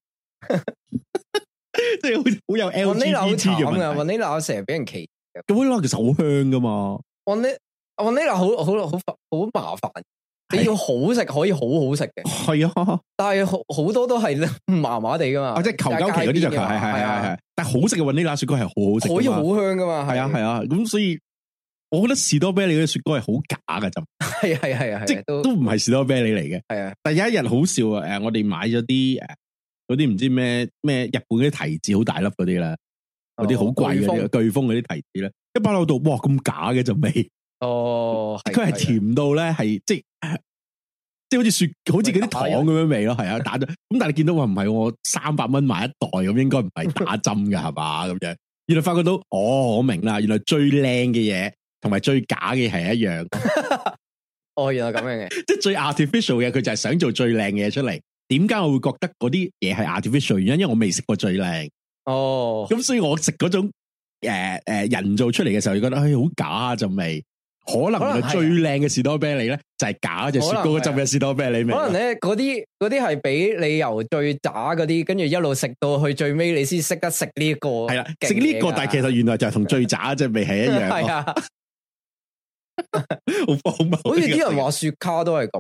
即係好好有 L G B T 嘅問題。雲希拿成日俾人歧視，雲希拿其實好香噶嘛。雲希雲希拿好好好好麻煩。你要好食可以好好食嘅，係啊，但係好好多都係麻麻地噶嘛，即係求鳩期嗰啲就係係係係，但係好食嘅雲呢拿雪糕係好好食，可以好香噶嘛，係啊係啊，咁所以我覺得士多啤梨嗰啲雪糕係好假噶就，係係係啊，即係都唔係士多啤梨嚟嘅，係啊。但係有一日好笑啊，誒，我哋買咗啲誒嗰啲唔知咩咩日本嗰啲提子好大粒嗰啲啦，嗰啲好貴嘅巨峰嗰啲提子咧，一包落到哇咁假嘅就味。哦，佢係甜到咧，係即係即係好似雪，好似嗰啲糖咁樣味咯，係啊，打咗咁，但係你見到話唔係，我三百蚊買一袋咁，應該唔係打針㗎係嘛咁樣。原來發覺到，哦，我明啦，原來最靚嘅嘢同埋最假嘅係一樣。哦，原來咁樣嘅，即係最 artificial 嘅，佢就係想做最靚嘅嘢出嚟。點解我會覺得嗰啲嘢係 artificial 原因？因為我未食過最靚。哦，咁所以我食嗰種誒誒、呃呃、人造出嚟嘅時候，就覺得唉好假啊陣味。可能係最靚嘅士多啤梨咧，就係假隻雪糕嗰陣嘅士多啤梨味。可能咧，嗰啲嗰啲係俾你由最渣嗰啲，跟住一路食到去最尾，你先識得食呢一個。係啦，食呢個，但係其實原來就係同最渣隻味係一樣。係啊，好荒謬。好似啲人話雪卡都係咁，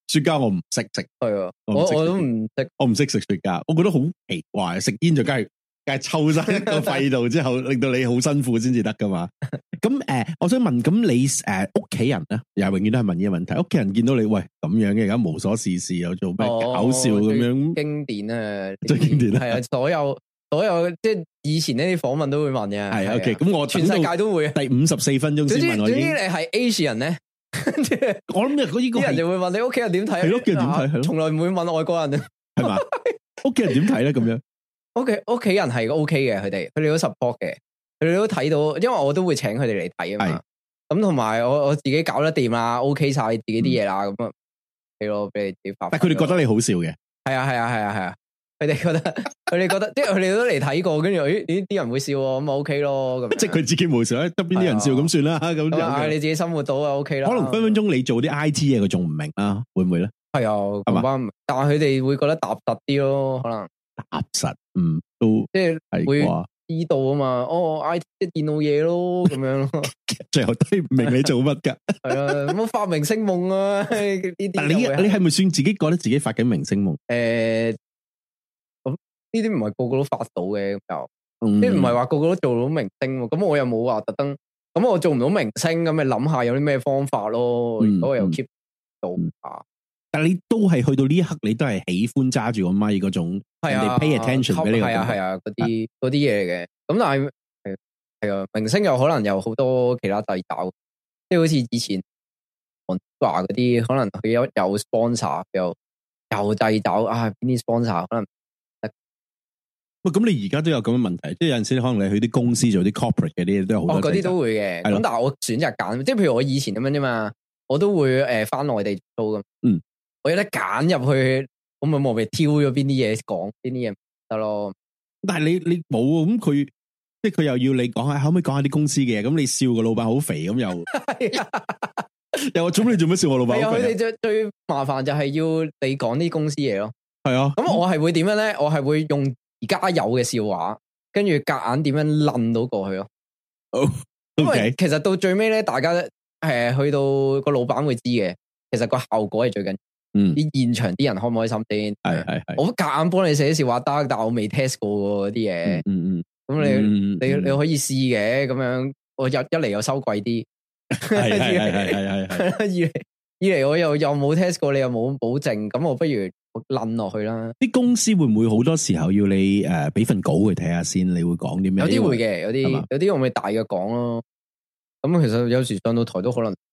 雪茄我唔識食， 係啊， 我我我都唔識， 我唔識食雪茄，我覺得好奇怪，食煙就梗係梗係抽晒個肺度之後，令到你好辛苦先至得噶嘛。咁誒、呃，我想問，咁你誒屋企人咧，又永遠都係問呢個問題，屋企人見到你喂咁樣嘅，而家無所事事又做咩搞笑咁樣， 哦、經典啊， 最經典係啊，所有所有即係以前呢啲訪問都會問嘅， 係 OK，咁我全世界都會， 第五十四分鐘先問我已經，總之你係 Asian 咧。 我諗嘅嗰啲人就會問你屋企人點睇， 係屋企人點睇，係咯， 從來唔會問外國人， 係嘛？屋企人點睇咧？咁樣， 屋企屋企人係 O K 嘅，佢哋佢哋都 support 嘅，佢哋都睇到，因為我都會請佢哋嚟睇啊嘛。咁同埋我我自己搞得掂啦 ，OK 晒自己啲嘢啦，咁啊，係咯，俾你自己發。 但係佢哋覺得你好笑嘅， 係啊係啊係啊係啊，佢哋覺得佢哋覺得，即係佢哋都嚟睇過，跟住誒呢啲人會笑，咁咪 OK 咯，咁即係佢自己冇笑，得邊啲人笑咁算啦，咁嗌你自己生活到啊 OK 啦。 可能分分鐘你做啲 I T 嘢，佢仲唔明啦，會唔會咧？ 係啊，係嘛？但係佢哋會覺得踏實啲咯，可能踏實，嗯，都即係會知道啊嘛。哦 ，I T 即係電腦嘢咯，咁樣咯。 最後都唔明你做乜噶。 係啊，冇發明星夢啊呢啲。 但你你係咪算自己覺得自己發緊明星夢？ 誒，咁呢啲唔係個個都發到嘅，咁又即係唔係話個個都做到明星。咁我又冇話特登，咁我做唔到明星，咁咪諗下有啲咩方法咯。如果我又 keep 到啊。 但你都係去到呢一刻，你都係喜歡揸住個咪嗰種，人哋 pay attention 俾你。 係啊係啊，嗰啲嗰啲嘢嘅。咁但係係係啊，明星又可能有好多其他掣肘，即係好似以前黃子華嗰啲，可能佢有有 sponsor，又又掣肘啊，邊啲 sponsor 可能。 喂，咁你而家都有咁嘅問題，即係有陣時可能你去啲公司做啲 corporate 嘅啲嘢都有好多。哦，嗰啲都會嘅。咁但係我選擇揀，即係譬如我以前咁樣啫嘛，我都會誒翻內地做咁。嗯。我有得揀入去，咁咪我咪挑咗邊啲嘢講，邊啲嘢得咯。但係你你冇咁佢，即係佢又要你講下，可唔可以講下啲公司嘅嘢？咁你笑個老闆好肥咁又，又話咁你做乜笑我老闆？係啊，佢哋最最麻煩就係要你講啲公司嘢咯。係啊，咁我係會點樣咧？我係會用而家有嘅笑話，跟住夾硬點樣撚到過去咯。哦，因為其實到最尾咧，大家誒去到個老闆會知嘅，其實個效果係最緊。嗯，啲現場啲人開唔開心先？係係係，我夾硬幫你寫笑話得，但係我未 test 過嗰啲嘢。嗯嗯，咁你、嗯、你你可以試嘅，咁樣我一一嚟又收貴啲，係係係係係係。二嚟二嚟我又又冇 test 過，你又冇保證，咁我不如我撚落去啦。啲公司會唔會好多時候要你誒俾份稿去睇下先？你會講啲咩？有啲會嘅，有啲有啲我咪大約講咯。咁其實有時上到台都可能。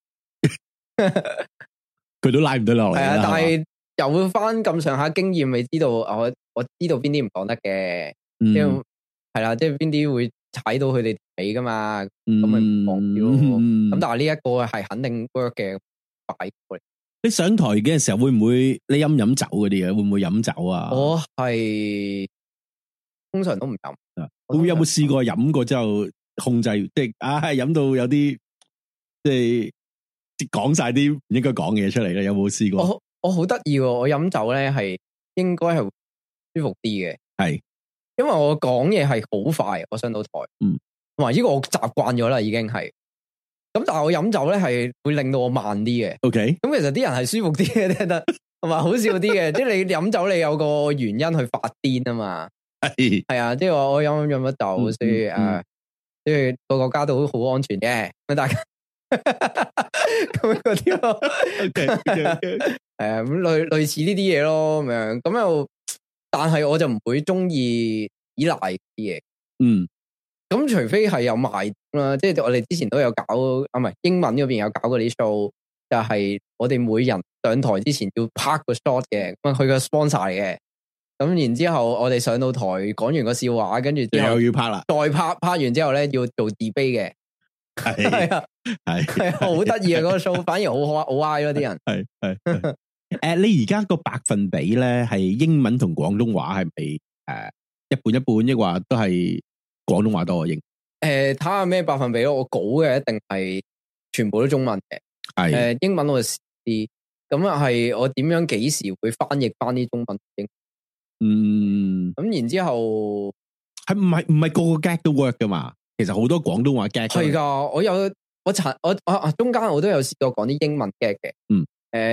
佢都拉唔到落嚟，係啊！但係又會翻咁上下經驗，咪知道我我知道邊啲唔講得嘅，即係係啦，即係邊啲會踩到佢哋尾噶嘛，咁咪唔講啲咯。咁但係呢一個係肯定 work 嘅，擺過嚟。你上台嘅時候會唔會你飲唔飲酒嗰啲嘅？會唔會飲酒啊？我係通常都唔飲。會有冇試過飲過之後控制，即係啊飲到有啲即係。講晒啲唔應該講嘅嘢出嚟咧，有冇試過？我我好得意喎，我飲酒咧係應該係舒服啲嘅，係因為我講嘢係好快，我上到台，嗯，同埋呢個我習慣咗啦，已經係。咁但係我飲酒咧係會令到我慢啲嘅，OK。咁其實啲人係舒服啲嘅，聽得同埋好笑啲嘅，即係你飲酒你有個原因去發癲啊嘛，係係啊，即係話我飲飲咗酒，所以誒，即係個國家都好安全嘅，咁大家。咁嗰啲咯，係啊，咁類類似呢啲嘢咯，咁樣咁又，但係我就唔會中意依賴啲嘢，嗯，咁除非係有賣啦，即係我哋之前都有搞啊，唔係英文嗰邊有搞過啲 show，就係我哋每人上台之前要拍個 shot 嘅，咁佢個 sponsor 嚟嘅，咁然之後我哋上到台講完個笑話，跟住之後又要拍啦，再拍拍完之後咧要做 debate 嘅。係係啊，係係好得意啊！嗰個 show 反而好可好 I 咯，啲人係係誒，你而家個百分比咧係英文同廣東話係咪誒一半一半，抑或都係廣東話多啊？英誒睇下咩百分比咯，我稿嘅一定係全部都中文嘅，係誒、呃、英文我就試啲，咁啊係我點樣幾時會翻譯翻啲中文英？嗯，咁然之後係唔係唔係個個 gag 都 work 噶嘛？其實好多廣東話 gag 係噶，我有我查我啊啊中間我都有試過講啲英文 gag 嘅，嗯，誒、呃，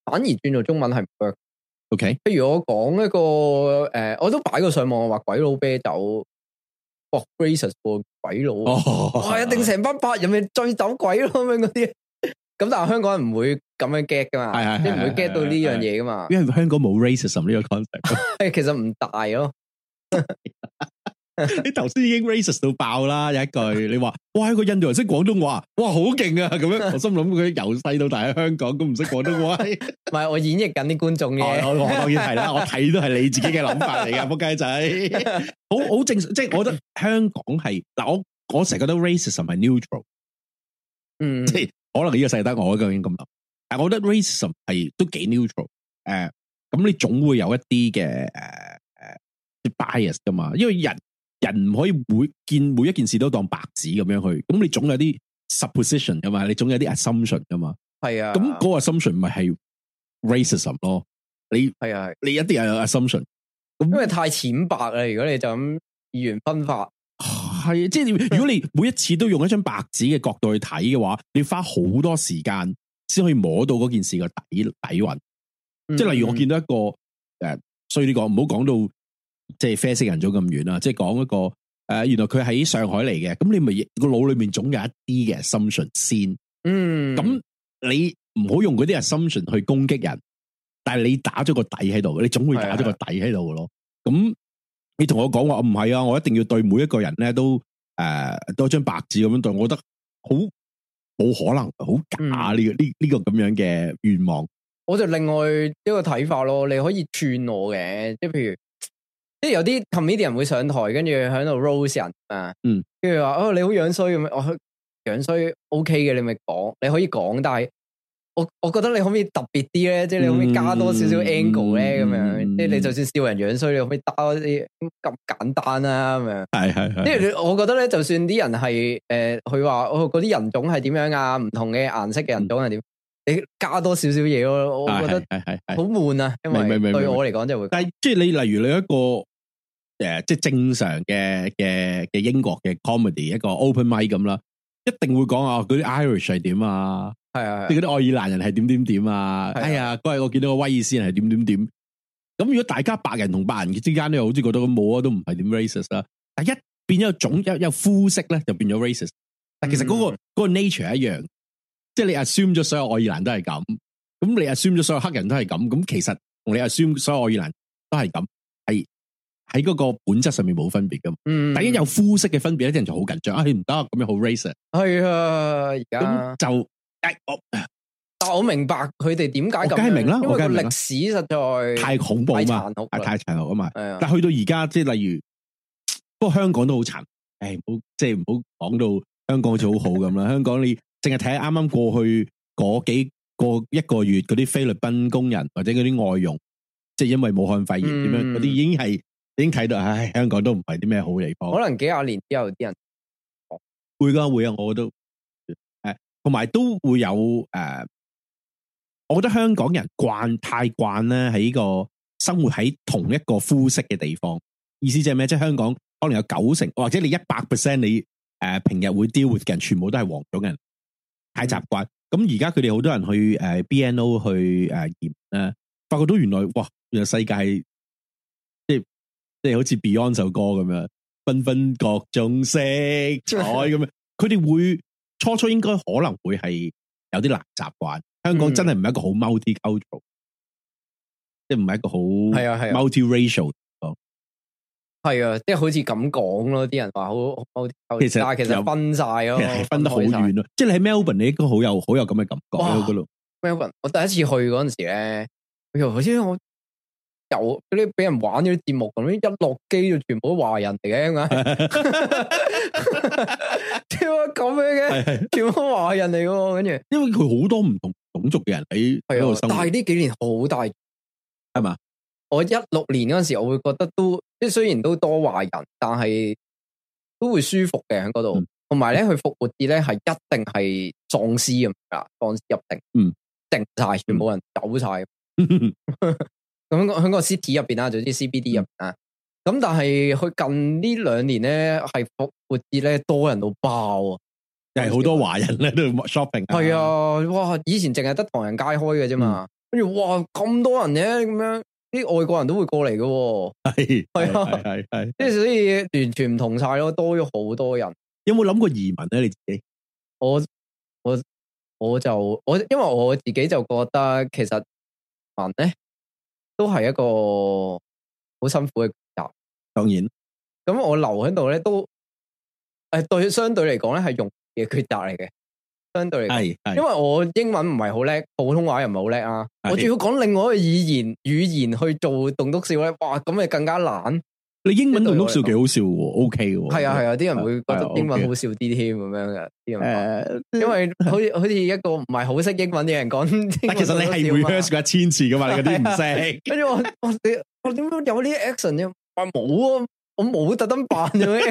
反而轉做中文係唔 work。 OK， 譬如我講一個誒、呃，我都擺過上網話鬼佬啤酒，哇 racist 個鬼佬，哇、哦、一定成班白人咪醉酒鬼咯咁樣嗰啲。咁但係香港人唔會咁樣 get 噶嘛，即係唔會 get 到呢樣嘢噶嘛。因為香港冇 racism 呢個 concept， 其實唔大咯。 你頭先已經 racist 到爆啦，有一句你話哇，一個印度人識廣東話，哇好勁啊咁樣。我心諗佢由細到大喺香港都唔識廣東話。 唔係我演繹緊啲觀眾嘅、 哦，我當然係啦，我睇都係你自己嘅諗法嚟噶，仆街仔。好好正常，即係我覺得香港係嗱，我我成日覺得 racism 係 neutral， 嗯， 即係可能呢個世得我究竟咁諗，但係我覺得 racism 係都幾 neutral，誒、呃，咁你總會有一啲嘅誒誒 bias 噶嘛，因為人。人唔可以每見每一件事都當白紙咁樣去，咁你總有啲 supposition 噶嘛，你總有啲 assumption 噶嘛。係啊，咁嗰個 assumption 咪係 racism 咯。你係啊，你一定有 assumption，因為太淺白啦。如果你就咁二元分法， 係即係如果你每一次都用一張白紙嘅角度去睇嘅話，你花好多時間先可以摸到嗰件事嘅底底蘊。即係例如我見到一個誒，所以呢個唔好講到。即係啡色人種咁遠啦，即係講一個誒、呃，原來佢喺上海嚟嘅，咁你咪個腦裏面總有一啲嘅 assumption 先，嗯，咁你唔好用嗰啲 assumption 去攻擊人，但係你打咗個底喺度，你總會打咗個底喺度咯。咁你同我講話唔係啊，我一定要對每一個人咧都誒多張白紙咁樣對，我覺得好冇可能，好假呢、這個呢呢、這個咁樣嘅願望。 我就另外一個睇法咯，你可以串我嘅，即係譬如。即係有啲 comedian 會上台，跟住喺度 roast 人啊，嗯，跟住話哦你好樣衰咁樣，我樣衰 OK 嘅，你咪講，你可以講，但係我我覺得你可唔可以特別啲咧？即係你可唔可以加多少少 angle 咧？咁、嗯、樣，即係你就算笑人樣衰，你可唔可以打啲咁簡單啊？咁樣，係係係，即係我覺得咧，就算啲人係誒，佢話哦嗰啲人種係點樣啊？唔同嘅顏色嘅人種係點？你加多少少嘢咯，我覺得係係係好悶啊，因為對我嚟講就會。但係即係你例如你一個誒、呃，即係正常嘅嘅嘅英國嘅 comedy 一個 open mic 咁啦，一定會講啊嗰啲 Irish 係點啊，係啊，即係嗰啲愛爾蘭人係點點點啊，哎呀嗰日我見到個威爾斯人係點點點，咁如果大家白人同白人之間咧，好似覺得咁冇啊，都唔係點 racist 啦，但係一變咗種一有膚色咧，就變咗 racist，但其實嗰、嗰個、嗯嗰個 nature 一樣。即係你 assume 咗所有愛爾蘭都係咁，咁你 assume 咗所有黑人都係咁，咁其實同你 assume 所有愛爾蘭都係咁，係喺嗰個本質上面冇分別噶嘛。嗯，但係有膚色嘅分別咧，啲人就好緊張啊！你唔得咁樣好 racist。係啊，而家就誒，我但我明白佢哋點解咁，梗係明啦，我梗係明啦。歷史實在太恐怖啊嘛，太殘酷啊嘛。但係去到而家，即係例如，不過香港都好殘。誒，唔好即係唔好講到香港好似好好咁啦。香港你。淨係睇啱啱過去嗰幾個一個月嗰啲菲律賓工人或者嗰啲外傭，即係因為武漢肺炎點樣嗰啲，已經係已經睇到，唉，香港都唔係啲咩好地方。可能幾廿年之後啲人會噶會啊，我都誒，同埋都會有誒、呃，我覺得香港人慣太慣咧喺呢個生活喺同一個膚色嘅地方，意思即係咩？即係香港可能有九成或者你一百 percent 你誒、呃、平日會 deal with 嘅人，全部都係黃種人。太習慣，咁而家佢哋好多人去誒 B N O 去誒驗咧，發覺到原來哇，原來世界係即係即係好似 Beyond 首歌咁樣，繽紛各種色彩咁樣，佢哋會初初應該可能會係有啲難習慣。香港真係唔係一個好 multi-cultural，、嗯、即係唔係一個好係啊係 multi-racial。係啊，即係好似咁講咯，啲人話好好，其實但係其實分晒咯，其實分得好遠咯。即係你喺 Melbourne，你應該好有好有咁嘅感覺喺嗰度。Melbourne，我第一次去嗰陣時咧，好似我有嗰啲俾人玩嗰啲節目咁，一落機就全部都華人嚟嘅，點解？點解咁樣嘅？全部都華人嚟嘅，跟住因為佢好多唔同種族嘅人喺喺度生活。但係呢幾年好大，係嘛？我一六年嗰陣時，我會覺得都即係雖然都多華人，但係都會舒服嘅喺嗰度。同埋咧，佢復活節咧係一定係喪屍咁噶，喪屍入定，嗯，定晒，全部人走晒。咁喺個 city 入邊啦，總之 C B D 入邊啊。咁但係佢近呢兩年咧，係復活節咧多人到爆啊！係好多華人咧都 shopping。係啊，哇！以前淨係得唐人街開嘅啫嘛。 跟住哇咁多人嘅咁樣，啲外國人都會過嚟嘅， 係係啊， 係係， 即係所以完全唔同晒咯，多咗好多人。 有冇諗過移民咧？你自己？ 我我我就我因為我自己就覺得其實民咧都係一個好辛苦嘅抉擇。 當然， 咁我留喺度咧都誒對相對嚟講咧係容易嘅抉擇嚟嘅。相對嚟講，因為我英文唔係好叻，普通話又唔係好叻啊。我仲要講另外一個語言語言去做棟篤笑咧，哇咁咪更加難。 你英文棟篤笑幾好笑喎 ，OK 喎。 係啊係啊，啲人會覺得英文好笑啲添咁樣嘅。啲人誒，因為好似好似一個唔係好識英文嘅人講， 但其實你係 rehearse 過一千次噶嘛，你嗰啲唔識。 跟住我我你我點解有呢啲 action 啫？話冇啊，我冇特登扮嘅咩？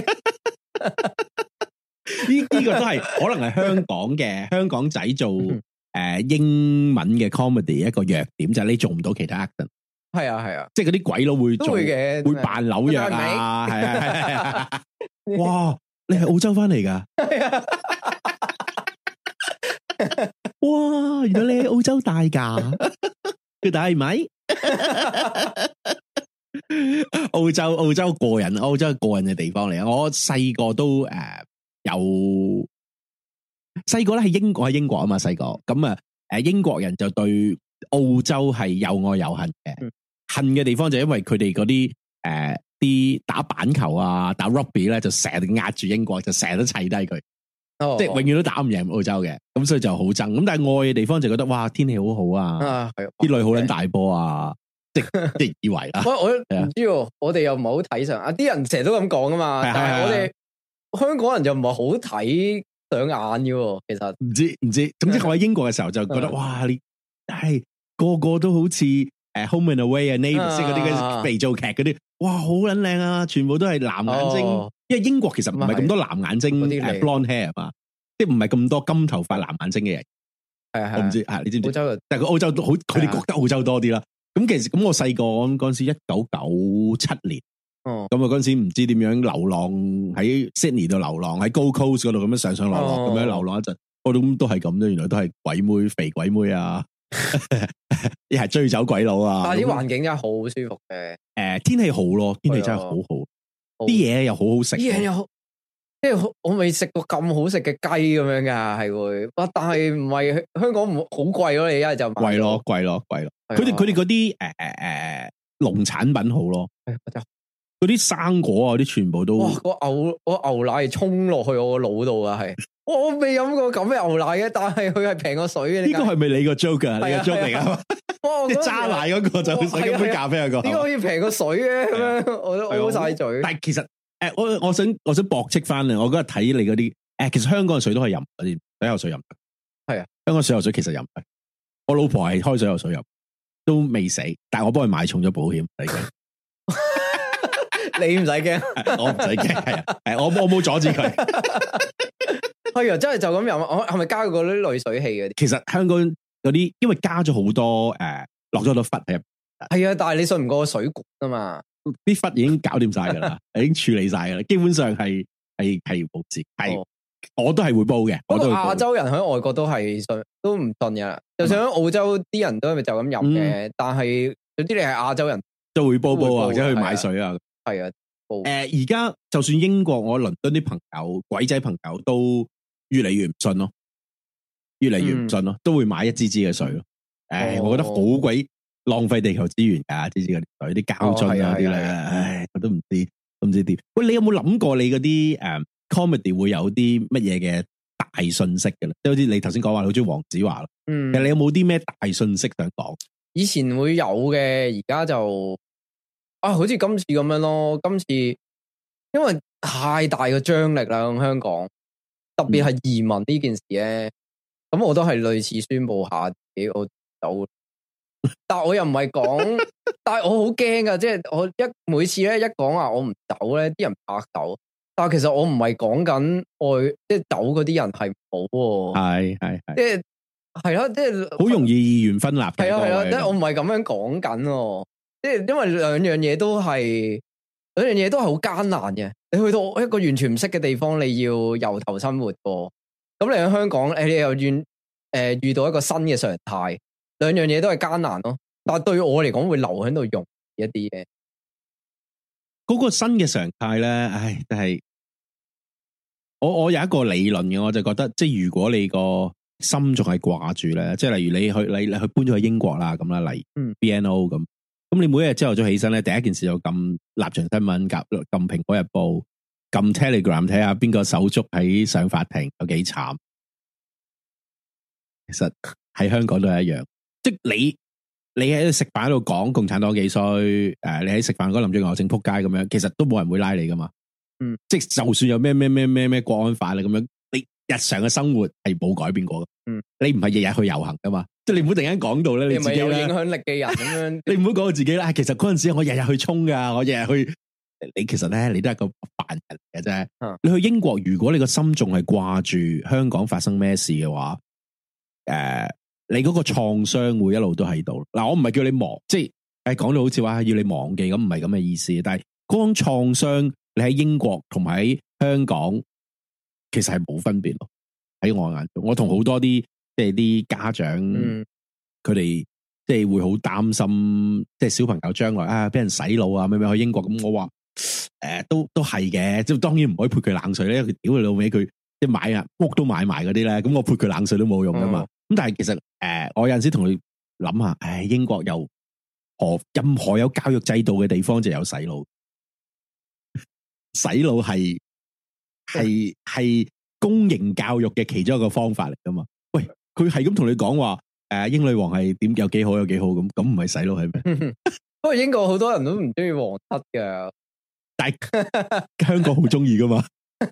呢呢個都係可能係香港嘅香港仔做誒、呃、英文嘅 comedy 一個弱點，就係、是、你做唔到其他 action。係啊係啊， 即係嗰啲鬼佬會做會嘅， 會扮紐約啊，係啊係啊。哇！你係澳洲翻嚟噶？哇！原來你喺澳洲大噶？佢大係咪？澳洲澳洲個人，澳洲個人嘅地方嚟啊！我細個都誒。呃有細個咧喺英國喺英國啊嘛，細個咁啊，誒英國人就對澳洲係又愛又恨嘅，嗯、恨嘅地方就因為佢哋嗰啲誒啲打板球啊打 rugby 咧就成日壓住英國，就成日都砌低佢，哦、即係永遠都打唔贏澳洲嘅，咁所以就好憎。咁但係愛嘅地方就覺得哇天氣好好啊，啲女好撚大波啊，即即以為啦。我我唔知喎，我哋又唔係好睇上啊，啲人成日都咁講噶嘛，但係我哋。香港人就唔係好睇上眼嘅，其實唔知唔知。總之我喺英國嘅時候就覺得哇，你係個個都好似誒 Home and Away 啊 Neighbours 嗰啲嘅肥皂劇嗰啲，哇好撚靚啊！全部都係藍眼睛，哦、因為英國其實唔係咁多藍眼睛誒 blonde hair 嘛，即係唔係咁多金頭髮藍眼睛嘅人。係啊，我唔知啊，你知唔知？澳洲但係個澳洲都好，佢哋覺得澳洲多啲啦。咁其實咁我細個嗰陣時一九九七年。哦，咁啊嗰陣時唔知點樣流浪喺 Sydney 度流浪喺 Gold Coast 嗰度咁樣上上落落咁樣流浪一陣，我諗都係咁啫，原來都係鬼妹肥鬼妹啊，一係追走鬼佬啊， 但係啲環境真係好舒服嘅， 誒天氣好咯，天氣真係好好，啲嘢又好好食， 啲嘢又好，即係我未食過咁好食嘅雞咁樣噶，係會，哇！但係唔係香港唔好貴咯，你一係就貴咯，貴咯，貴咯，佢哋佢哋嗰啲誒誒誒農產品好咯。嗰啲生果啊，啲全部都哇！ 個牛個牛奶係沖落去我個腦度啊，係我未飲過咁嘅牛奶嘅，但係佢係平過水嘅。呢個係咪你個 joke 啊？你個 joke 嚟啊？即係揸奶嗰個就想飲杯咖啡啊個。點解可以平過水嘅咁樣？我都嘔晒嘴。 但係其實誒，我我想我想駁斥翻啊！我嗰日睇你嗰啲誒，其實香港嘅水都可以飲，啲水喉水飲得。係啊，香港水喉水其實飲得。我老婆係開水喉水飲，都未死，但係我幫佢買重咗保險。 你唔使驚， 我唔使驚，係啊，係我我冇阻止佢。 係啊，真係就咁飲。我係咪加過嗰啲濾水器嘅？ 其實香港嗰啲，因為加咗好多誒，落咗好多氟喺入邊。 係啊，但係你信唔過水管啊嘛？ 啲氟已經搞掂晒噶啦，已經處理晒噶啦，基本上係係係冇事。係、哦、我都係會煲嘅。 不過亞洲人喺外國都係信，都唔信嘅。就算喺澳洲啲人都係咪就咁飲嘅？嗯、但係有啲你係亞洲人都會煲煲啊，或者去買水啊。 係啊，誒， 而家、呃、就算英國，我倫敦啲朋友、鬼仔朋友都越嚟越唔信咯，越嚟越唔信咯，嗯、都會買一支支嘅水咯。誒、呃，哦、我覺得好鬼浪費地球資源噶，支支嗰啲水，啲膠樽啊啲咧，唉，我都唔知，都唔知點。喂，你有冇諗過你嗰啲誒 comedy 會有啲乜嘢嘅大信息嘅咧？即係好似你頭先講話，好中意黃子華咯。嗯，其實你有冇啲咩大信息想講？ 以前會有嘅，而家就。啊，好似今次咁樣咯，今次因為太大嘅張力啦，香港特別係移民呢件事咧，咁、嗯、我都係類似宣布下自己我走，但係我又唔係講，但係我好驚噶，即係我一每次咧一講話我唔走咧，啲人拍手，但係其實我唔係講緊愛，即係走嗰啲人係唔好，係係係，即係係咯，即係好容易二元分立，係啊係啊，即係我唔係咁樣講緊。即係因為兩樣嘢都係兩樣嘢都係好艱難嘅。你去到一個完全唔識嘅地方，你要由頭生活過。咁你喺香港，誒，你又願誒遇到一個新嘅常態， 兩樣嘢都係艱難咯。但係對我嚟講，會留喺度用一啲嘢。 嗰個新嘅常態咧，唉，但係我我有一個理論嘅，我就覺得，即係如果你個心仲係掛住咧，即係例如你去你你去搬咗去英國啦，咁啦，例如 B N O 咁，咁、嗯、你每一日朝頭早起身咧，第一件事就撳立場新聞，撳撳蘋果日報，撳 Telegram 睇下邊個手足喺上法庭有幾慘。其實喺香港都係一樣，即係你。你喺食飯喺度講共產黨幾衰，誒、呃，你喺食飯嗰林鄭月娥正仆街咁樣，其實都冇人會拉你噶嘛。嗯，即係就算有咩咩咩咩咩國安法啦咁樣，你日常嘅生活係冇改變過嘅。嗯，你唔係日日去遊行噶嘛，即係你唔好突然間講到咧，你自己有影響力嘅人咁樣，你唔好講到自己啦。其實嗰陣時我日日去衝噶，我日日去，你其實咧你都係個凡人嚟嘅啫。嗯、你去英國，如果你個心仲係掛住香港發生咩事嘅話，誒、呃。你嗰個創傷會一路都喺度。嗱，我唔係叫你忘，即係誒講到好似話要你忘記咁，唔係咁嘅意思。但係嗰種創傷，你喺英國同埋喺香港，其實係冇分別咯。喺我眼中，我同好多啲即係啲家長，佢哋、嗯、即係會好擔心，即係小朋友將來啊，俾人洗腦啊，咩咩去英國咁。我話誒、呃，都都係嘅，即係當然唔可以潑佢冷水咧。佢屌你老味，佢即係買啊屋都買埋嗰啲咧，咁我潑佢冷水都冇用噶嘛。咁、嗯、但係其實誒、呃，我有陣時同佢諗下，誒，英國有何任何有教育制度嘅地方就有洗腦，洗腦係係係公營教育嘅其中一個方法嚟噶嘛？喂，佢係咁同你講話，誒、呃，英女王係點有幾好有幾好咁，咁唔係洗腦係咩？ 不過英國好多人都唔中意皇室噶， 但係香港好中意噶嘛？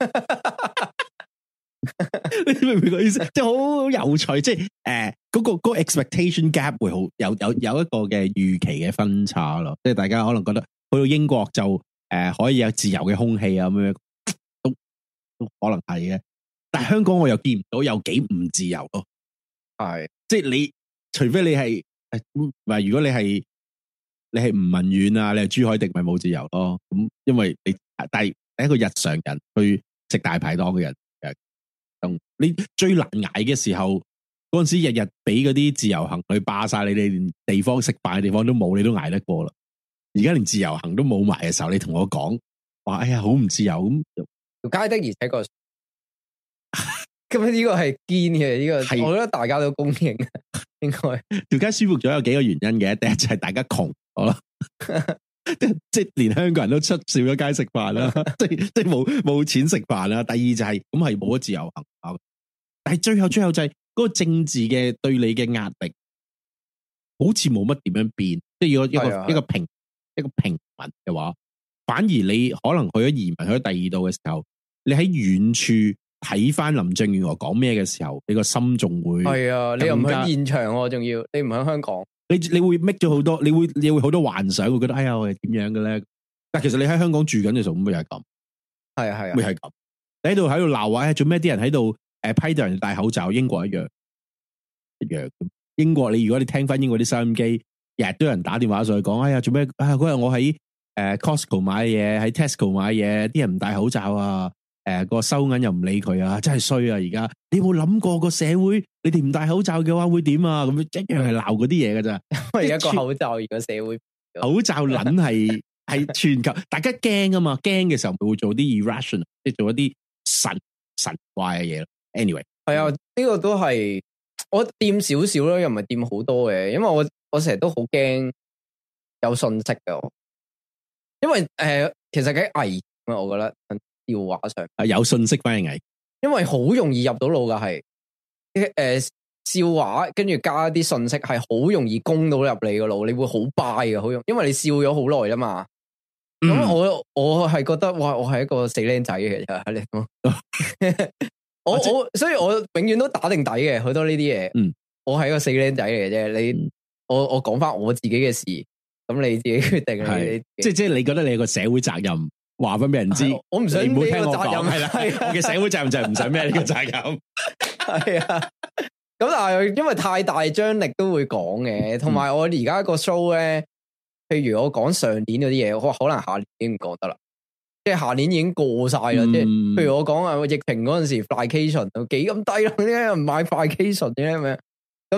你明唔明個意思？即係好有趣，即係誒，嗰、呃那個、那個 expectation gap 會好有有有一個嘅預期嘅分差咯。即係大家可能覺得去到英國就誒、呃、可以有自由嘅空氣啊，咁樣都都可能係嘅。但係香港我又見唔到有幾唔自由咯。係，即係你除非你係誒，唔係如果你係你係吳文遠啊，你係朱凱廸，咪冇自由咯。咁因為你但係一個日常人去食大排檔嘅人。你最難捱嘅時候，嗰陣時日日俾嗰啲自由行去霸晒你哋，連地方食飯嘅地方都冇，你都捱得過啦。而家連自由行都冇埋嘅時候，你同我講話，哎呀，好唔自由咁。 條街的而且確，咁呢個係堅嘅，呢個係我覺得大家都公認，應該條街舒服咗有幾個原因嘅，第一就係大家窮，好啦。即即係連香港人都出少咗街食飯啦，即係即係冇冇錢食飯啦。第二就係咁係冇咗自由行，但係最後最後就係嗰個政治嘅對你嘅壓力，好似冇乜點樣變。即係如果一個的一個平一個平民嘅話，反而你可能去咗移民去咗第二度嘅時候，你喺遠處睇翻林鄭月娥講咩嘅時候，你個心仲會係啊？你又唔喺現場，仲要你唔喺香港。你你會 make 咗好多，你會你會好多幻想，會覺得哎呀，我係點樣嘅咧？但其實你喺香港住緊嘅時候，咁咪又係咁，係啊係啊，會係咁。你喺度喺度鬧話，做咩啲人喺度誒批到人戴口罩？英國一樣一樣。英國你如果你聽翻英國啲收音機，日日都有人打電話上去講，哎呀，做咩啊？嗰日我喺誒 Costco 買嘢，喺 Tesco 買嘢，啲人唔戴口罩啊！誒、呃，個收銀又唔理佢啊，真係衰啊！而家你有冇諗過個社會，你哋唔戴口罩嘅話會點啊？咁樣一樣係鬧嗰啲嘢㗎咋？因為一個口罩，而個社會口罩撚係係全球，大家驚啊嘛，驚嘅時候咪會做啲 irrational，即係做一啲神神怪嘅嘢咯。Anyway，係啊，呢、這個都係我掂少少咯，又唔係掂好多嘅，因為我我成日都好驚有信息嘅，因為誒、呃，其實幾危啊，我覺得。笑話上啊，有信息反而危，因為好容易入到腦噶，係誒笑話，跟住加啲信息，係好容易攻到入你個腦，你會好 buy 嘅，好容易，因為你笑咗好耐啦嘛。咁、嗯、我我係覺得，哇，我係一個死僆仔嘅，其實喺你講，我我所以我永遠都打定底嘅，好多呢啲嘢。嗯，我係一個死僆仔嚟嘅啫。你、嗯、我我講翻我自己嘅事，咁你自己決定。係即係即係，你覺得你有個社會責任？話翻俾人知，我唔想唔好聽我講，係啦，我嘅社會責任就係唔想孭呢個責任，係啊。咁但係因為太大張力都會講嘅，同埋我而家個 show 咧，譬如我講上年嗰啲嘢，我可能下年已經唔講得啦，即係下年已經過晒啦。即係譬如我講啊，疫情嗰陣時 flycation 幾咁低咯，點解又唔買 flycation 嘅咁樣？咁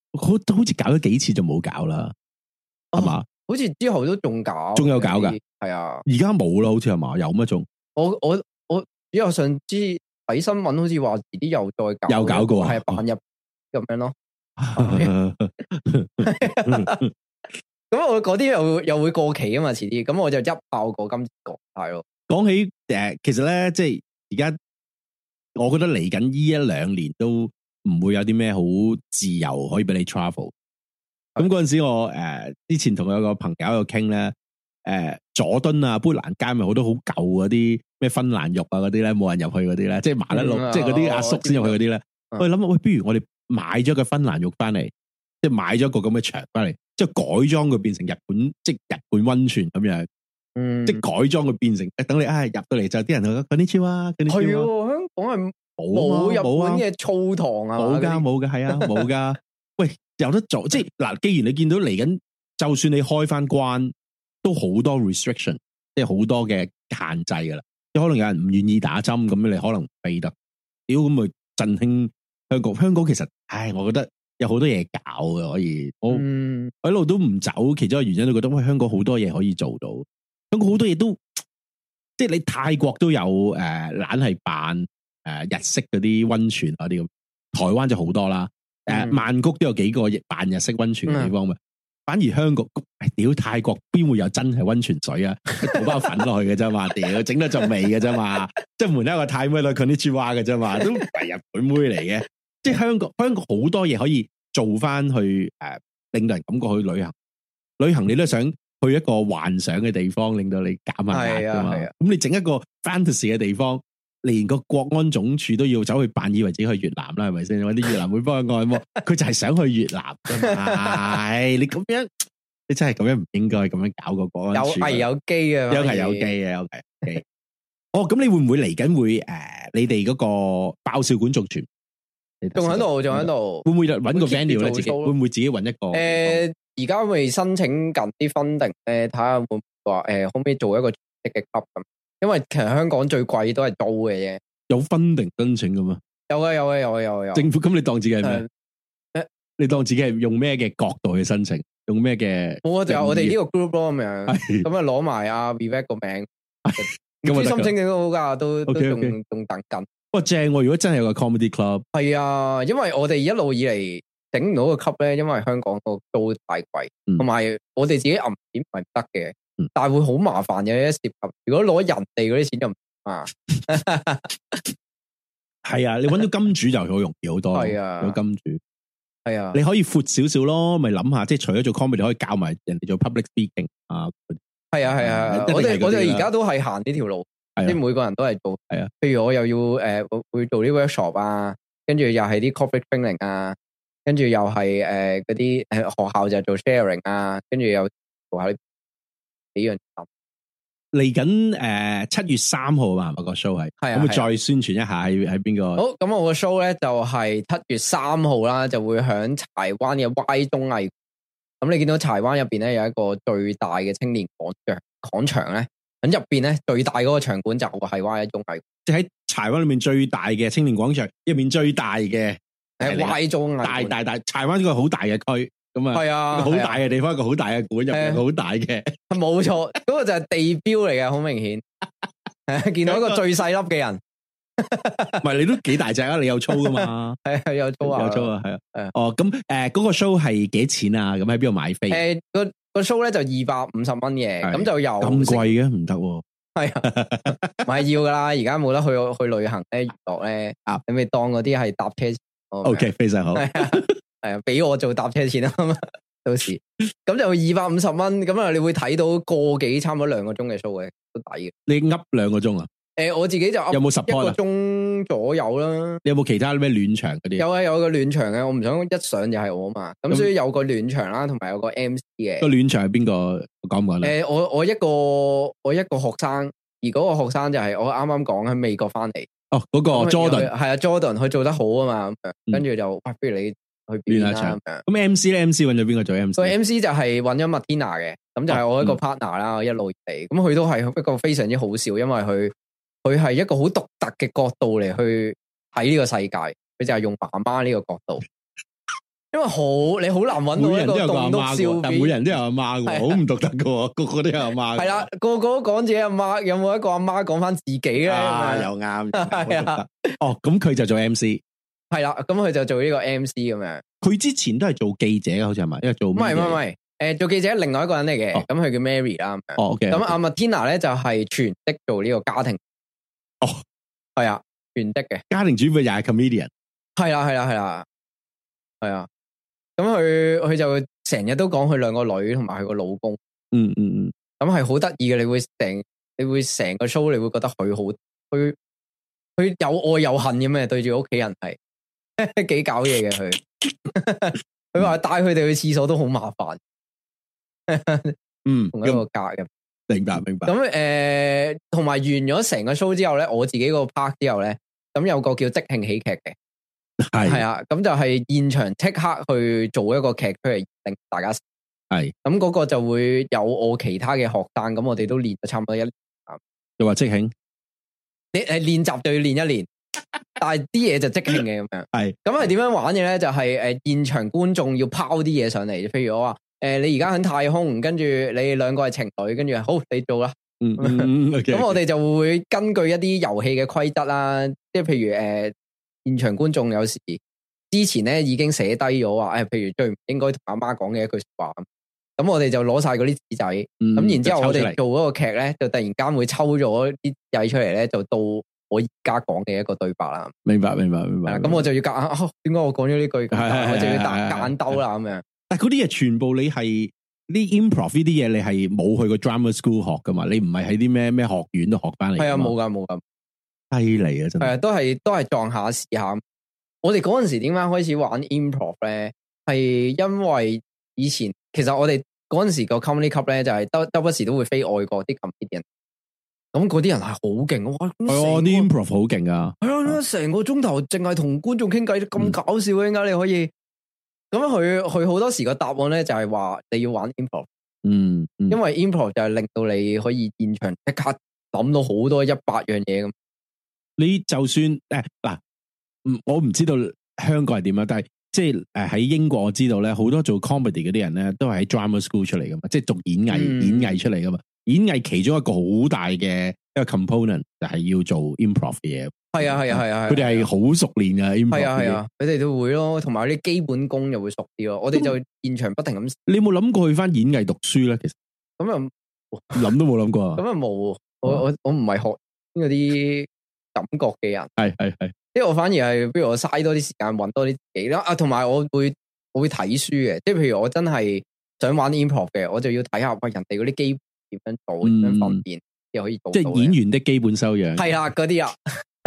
好好似搞咗幾次就冇搞啦，係嘛、哦？ 好似之後都仲搞， 仲有搞噶， 係啊， 而家冇啦，好似係嘛？有乜仲？ 我我我只有上次睇新聞，好似話遲啲又再搞， 又搞過啊， 係扮入咁樣咯。咁我嗰啲又又會過期啊嘛，遲啲，咁我就一爆過今次過係咯。 講起誒、呃，其實咧，即係而家，我覺得嚟緊呢一兩年都唔會有啲咩好自由可以俾你 travel。咁嗰陣時我誒、呃、之前同有個朋友喺度傾咧，誒、呃、佐敦啊、砵蘭街咪好多好舊嗰啲咩芬蘭浴啊嗰啲咧，冇人入去嗰啲咧，即係麻甩佬，嗯、即係嗰啲阿叔先入去嗰啲咧。我哋諗下，喂，不如我哋買咗個芬蘭浴翻嚟，即係買咗個咁嘅牆翻嚟，即係改裝佢變成日本，即係日本溫泉咁樣。嗯，即係改裝佢變成，等你啊入到嚟就啲人去嗰啲超啊，嗰啲超啊。係香港係冇日本嘅澡堂啊， 冇噶冇噶，係啊冇噶。喂，有得做，即係嗱，既然你見到嚟緊，就算你開翻關，都好多 restriction，即係好多嘅限制噶啦。即係可能有人唔願意打針，咁你可能唔避得。屌咁咪振興香港？香港其實，唉，我覺得有好多嘢搞嘅可以。我嗯， 我一路都唔走，其中一個原因都覺得，喂，香港好多嘢可以做到。香港好多嘢都，即係你泰國都有誒，懶係扮誒日式嗰啲溫泉嗰啲咁，台灣就好多啦。誒、呃，曼谷都有幾個扮日式溫泉嘅地方嘛。嗯、反而香港，屌泰國邊會有真係溫泉水啊？倒包粉落去嘅啫嘛，屌整得陣味嘅啫嘛，即係門口一個泰妹女佢啲豬蛙嘅啫嘛，都唔係日本妹嚟嘅。即係香港，香港好多嘢可以做翻去誒、呃，令到人感覺去旅行。旅行你都想去一個幻想嘅地方，令到你減下壓噶嘛？咁、啊啊、你整一個 fantasy 嘅地方，連個國安總署都要走去扮以為自己去越南啦，係咪先？搵啲越南會幫佢按摩，佢就係想去越南噶嘛？你咁樣，你真係咁樣唔應該咁樣搞個國安署。有危有機啊！ 有危有機啊！有危有機。哦，咁你會唔會嚟緊會誒、呃？你哋嗰個爆笑館續傳？ 仲喺度，仲喺度。 會唔會搵個 venue 咧？自己會唔會自己搵一個？誒、 呃。而家未申請緊啲 funding 咧，睇下會唔會話誒，可唔可以做一個積極 club 咁？因為其實香港最貴都係租嘅啫。有 funding 申請噶嘛？有啊有啊有啊有啊有。政府咁你當自己係咩？誒，你當自己係用咩嘅角度去申請？用咩嘅？我就我哋呢個 group 咯咁樣，咁啊攞埋阿 Vivek 個名，唔知申請幾都好噶，都都仲仲等緊。哇正！如果真係有個 comedy club，係啊，因為我哋一路以嚟。整唔到個級咧，因為香港個租太貴，同埋、嗯、我哋自己揞錢唔係得嘅，嗯、但係會好麻煩嘅。一涉及如果攞人哋嗰啲錢就唔啊，係啊，你搵到金主就好容易好多。係啊，有金主係啊，你可以闊少少咯，咪諗下，即係除咗做 comedy，可以教埋人哋做 public speaking 啊。係啊係啊，啊我哋我哋而家都係行呢條路，即係、啊、每個人都係做。係啊，譬如我又要誒、呃、會做啲 workshop 啊，跟住又係啲 corporate training 啊。跟住又係誒嗰啲誒學校就做 sharing 啊，跟住又做下幾樣。嚟緊誒七月三號嘛，我個 show 係，可唔可以再宣傳一下喺喺邊個？好，咁我個 show 咧就係七月三號啦，就會響柴灣嘅 Y 綜藝。咁你見到柴灣入邊咧有一個最大嘅青年廣場，廣場咧喺入邊咧最大嗰個場館就係 Y 綜藝，即係喺柴灣裏面最大嘅青年廣場入面最大嘅。誒，Y 綜藝大大大，柴灣一個好大嘅區，咁啊，係啊，好大嘅地方，一個好大嘅館入邊，好大嘅，冇錯，嗰個就係地標嚟嘅，好明顯，係見到一個最細粒嘅人，唔係你都幾大隻啊？你有操噶嘛？係係有操啊，有操啊，係啊，哦，咁誒，嗰個 show 係幾錢啊？咁喺邊度買飛？誒，個個 show 咧就二百五十蚊嘅，咁就有咁貴嘅，唔得，係啊，唔係要噶啦，而家冇得去去旅行咧，娛樂咧，啊，你咪當嗰啲係搭車。O K，非常好，係啊，係啊，俾我做搭車錢啊嘛，到時咁就二百五十蚊，咁啊，你會睇到個幾差唔多兩個鐘嘅 show 嘅，都抵嘅。你噏兩個鐘啊？誒，我自己就有冇 support 一個鐘左右啦。你有冇其他咩暖場嗰啲？有啊，有個暖場嘅，我唔想一上就係我啊嘛，咁所以有個暖場啦，同埋有個 M C 嘅。個暖場係邊個講唔講咧？誒，我我一個我一個學生，而嗰個學生就係我啱啱講喺美國翻嚟。哦，嗰、那個 Jordan 係啊 Jordan 佢做得好啊嘛，跟住、嗯、就，喂，不如你去變下場。咁 M C 咧 ，M C 揾咗邊個做 M C？個 M C 就係揾咗 Martina 嘅，咁就係我一個 partner 啦，哦嗯、一路嚟。咁佢都係一個非常之好笑，因為佢佢係一個好獨特嘅角度嚟去睇呢個世界。佢就係用媽媽呢個角度， 因為好你好難揾到一個棟篤笑但每人都有阿媽嘅，好唔獨特嘅，個個都有阿媽。 係啦，個個都講自己阿媽，有冇一個阿媽講翻自己咧？ 啊，又啱， 係啊。 哦，咁佢就做 M C， 係啦，咁佢就做呢個 M C 咁樣。佢之前都係做記者嘅，好似係咪？因為做唔係唔係唔係，誒，做記者另外一個人嚟嘅，咁佢叫 Mary 啦。 哦，OK。 咁阿 Martina 咧就係全職做呢個家庭。 哦， 係啊，全職嘅家庭主婦又係 comedian。 係啦係啦係啦，係啊。咁佢佢就成日都講佢兩個女同埋佢個老公。 嗯嗯嗯。 咁係好得意嘅，你會成你會成個 show 你會覺得佢好，佢佢有愛有恨咁嘅，對住屋企人係幾搞嘢嘅佢。佢話帶佢哋去廁所都好麻煩。 嗯， 同一個格嘅。 明白明白。 咁誒，同埋完咗成個 show 之後咧，我自己個 part 之後咧，咁有個叫即興喜劇嘅。係係啊，咁就係現場即刻去做一個劇出嚟，令大家係咁嗰個就會有我其他嘅學生，咁我哋都練咗差唔多一年。 又話即興， 你誒練習就要練一年，但係啲嘢就即興嘅咁樣。係咁係點樣玩嘅咧？就係、是、誒現場觀眾要拋啲嘢上嚟，譬如我話誒、呃、你而家喺太空，跟住你兩個係情侶，跟住好你做啦。嗯，咁、嗯 okay, 我哋就會根據一啲遊戲嘅規則啦，即係譬如誒。呃現場觀眾有時之前咧已經寫低咗話，誒、哎，譬如最唔應該同阿媽講嘅一句話，咁我哋就攞晒嗰啲紙仔，咁、嗯、然之後我哋做嗰個劇咧，就突然間會抽咗啲仔出嚟咧，就到我而家講嘅一個對白啦。明白，明白，明白。咁我就要夾硬，點、哦、解我講咗呢句？我就要夾夾硬兜啦咁樣。但係嗰啲嘢全部你係啲 improv 呢啲嘢，你係冇去過 drama school 學噶嘛？你唔係喺啲咩咩學院都學翻嚟？係啊，冇噶，冇噶。犀利啊！真係，係啊，都係都係撞下試下。我哋嗰陣時點解開始玩 improv 咧？係因為以前其實我哋嗰陣時個 comedy club 咧，就係周周不時都會飛外國啲 comedian。咁嗰啲人係好勁，哇！係啊，啲 improv 好勁啊！係啊，成個鐘頭淨係同觀眾傾偈，咁搞笑嘅，點解你可以？咁佢佢好多時個答案咧就係話你要玩 improv。嗯，嗯，因為 improv 就係令到你可以現場即刻諗到好多一百樣嘢咁。你就算誒嗱，唔我唔知道香港係點樣，但係即係誒喺英國我知道咧，好多做 comedy 嗰啲人咧都係喺 drama school 出嚟噶嘛，即係讀演藝、嗯、演藝出嚟噶嘛。演藝其中一個好大嘅一個 component 就係要做 improv 嘅嘢。係啊係啊係啊，佢哋係好熟練嘅 improv。係啊係啊，佢哋都會咯，同埋啲基本功又會熟啲咯。我哋就現場不停咁。你有冇諗過去翻演藝讀書咧？其實咁又諗都冇諗過啊。咁又冇，我我我唔係學嗰啲感覺嘅人，係係係，即係我反而係，不如我嘥多啲時間揾多啲自己啦。啊，同埋我會我會睇書嘅，即係譬如我真係想玩 improv 嘅，我就要睇下喂人哋嗰啲基本點樣做，點樣訓練又可以做到。即係演員的基本修養。係啦，嗰啲啊，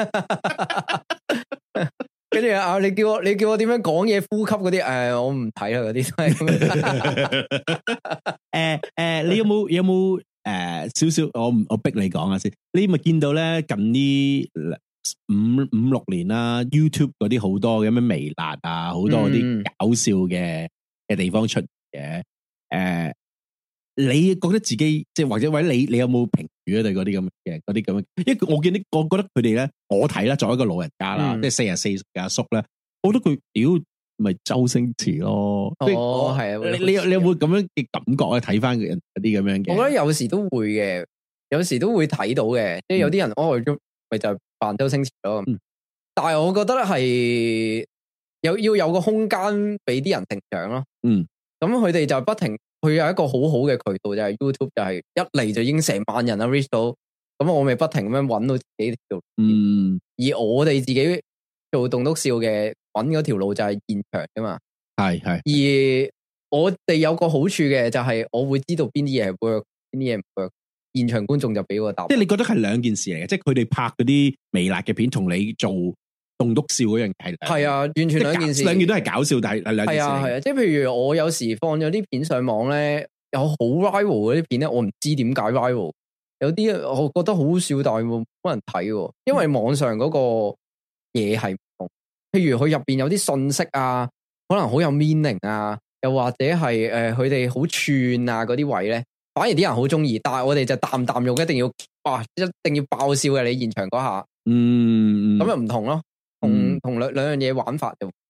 跟住啊，你叫我你叫我點樣講嘢、呼吸嗰啲，誒，我唔睇啦，嗰啲。誒誒，你有冇有冇？誒、呃，少少，我我逼你講下先。你咪見到咧，近呢五五六年啦 ，YouTube 嗰啲好多嘅咩微辣啊，好多嗰啲搞笑嘅嘅地方出嘅。誒、呃，你覺得自己即係或者或者你你有冇評語啊？對嗰啲咁嘅嗰啲咁嘅，因為我見啲我覺得佢哋咧，我睇啦，作為一個老人家啦，嗯、即係四十四歲嘅阿叔咧，我覺得佢屌咪周星馳咯。哦，係啊，你你有你有冇咁樣嘅感覺咧？睇翻人嗰啲咁樣嘅，我覺得有時都會嘅，有時都會睇到嘅，即係有啲人哦，咪就扮周星馳咯。嗯、但係我覺得係有要有個空間俾啲人成長咯。嗯，咁佢哋就不停，佢有一個好好嘅渠道，就係 YouTube，就係一嚟就已經成萬人啦 reach 到，咁我咪不停咁樣揾到自己條路。嗯，而我哋自己做棟篤笑嘅。揾嗰條路就係現場噶嘛，係係。而我哋有個好處嘅就係我會知道邊啲嘢係 work，邊啲嘢唔 work。現場觀眾就俾個答案。即係你覺得係兩件事嚟嘅，即係佢哋拍嗰啲微辣嘅片，同你做棟篤笑嗰樣係係啊，完全兩件事。兩件都係搞笑，但係係兩件事。係啊係啊，即係譬如我有時放咗啲片上網咧，有好 viral 嗰啲片咧，我唔知點解 viral。有啲我覺得好笑，但係冇冇人睇，因為網上嗰個嘢係。譬如佢入邊有啲信息啊，可能好有 meaning 啊，又或者係誒佢哋好串啊嗰啲位咧，反而啲人好中意，但係我哋就淡淡用，一定要哇，一定要爆笑嘅你現場嗰下，嗯，咁又唔同咯，同同兩兩樣嘢玩法就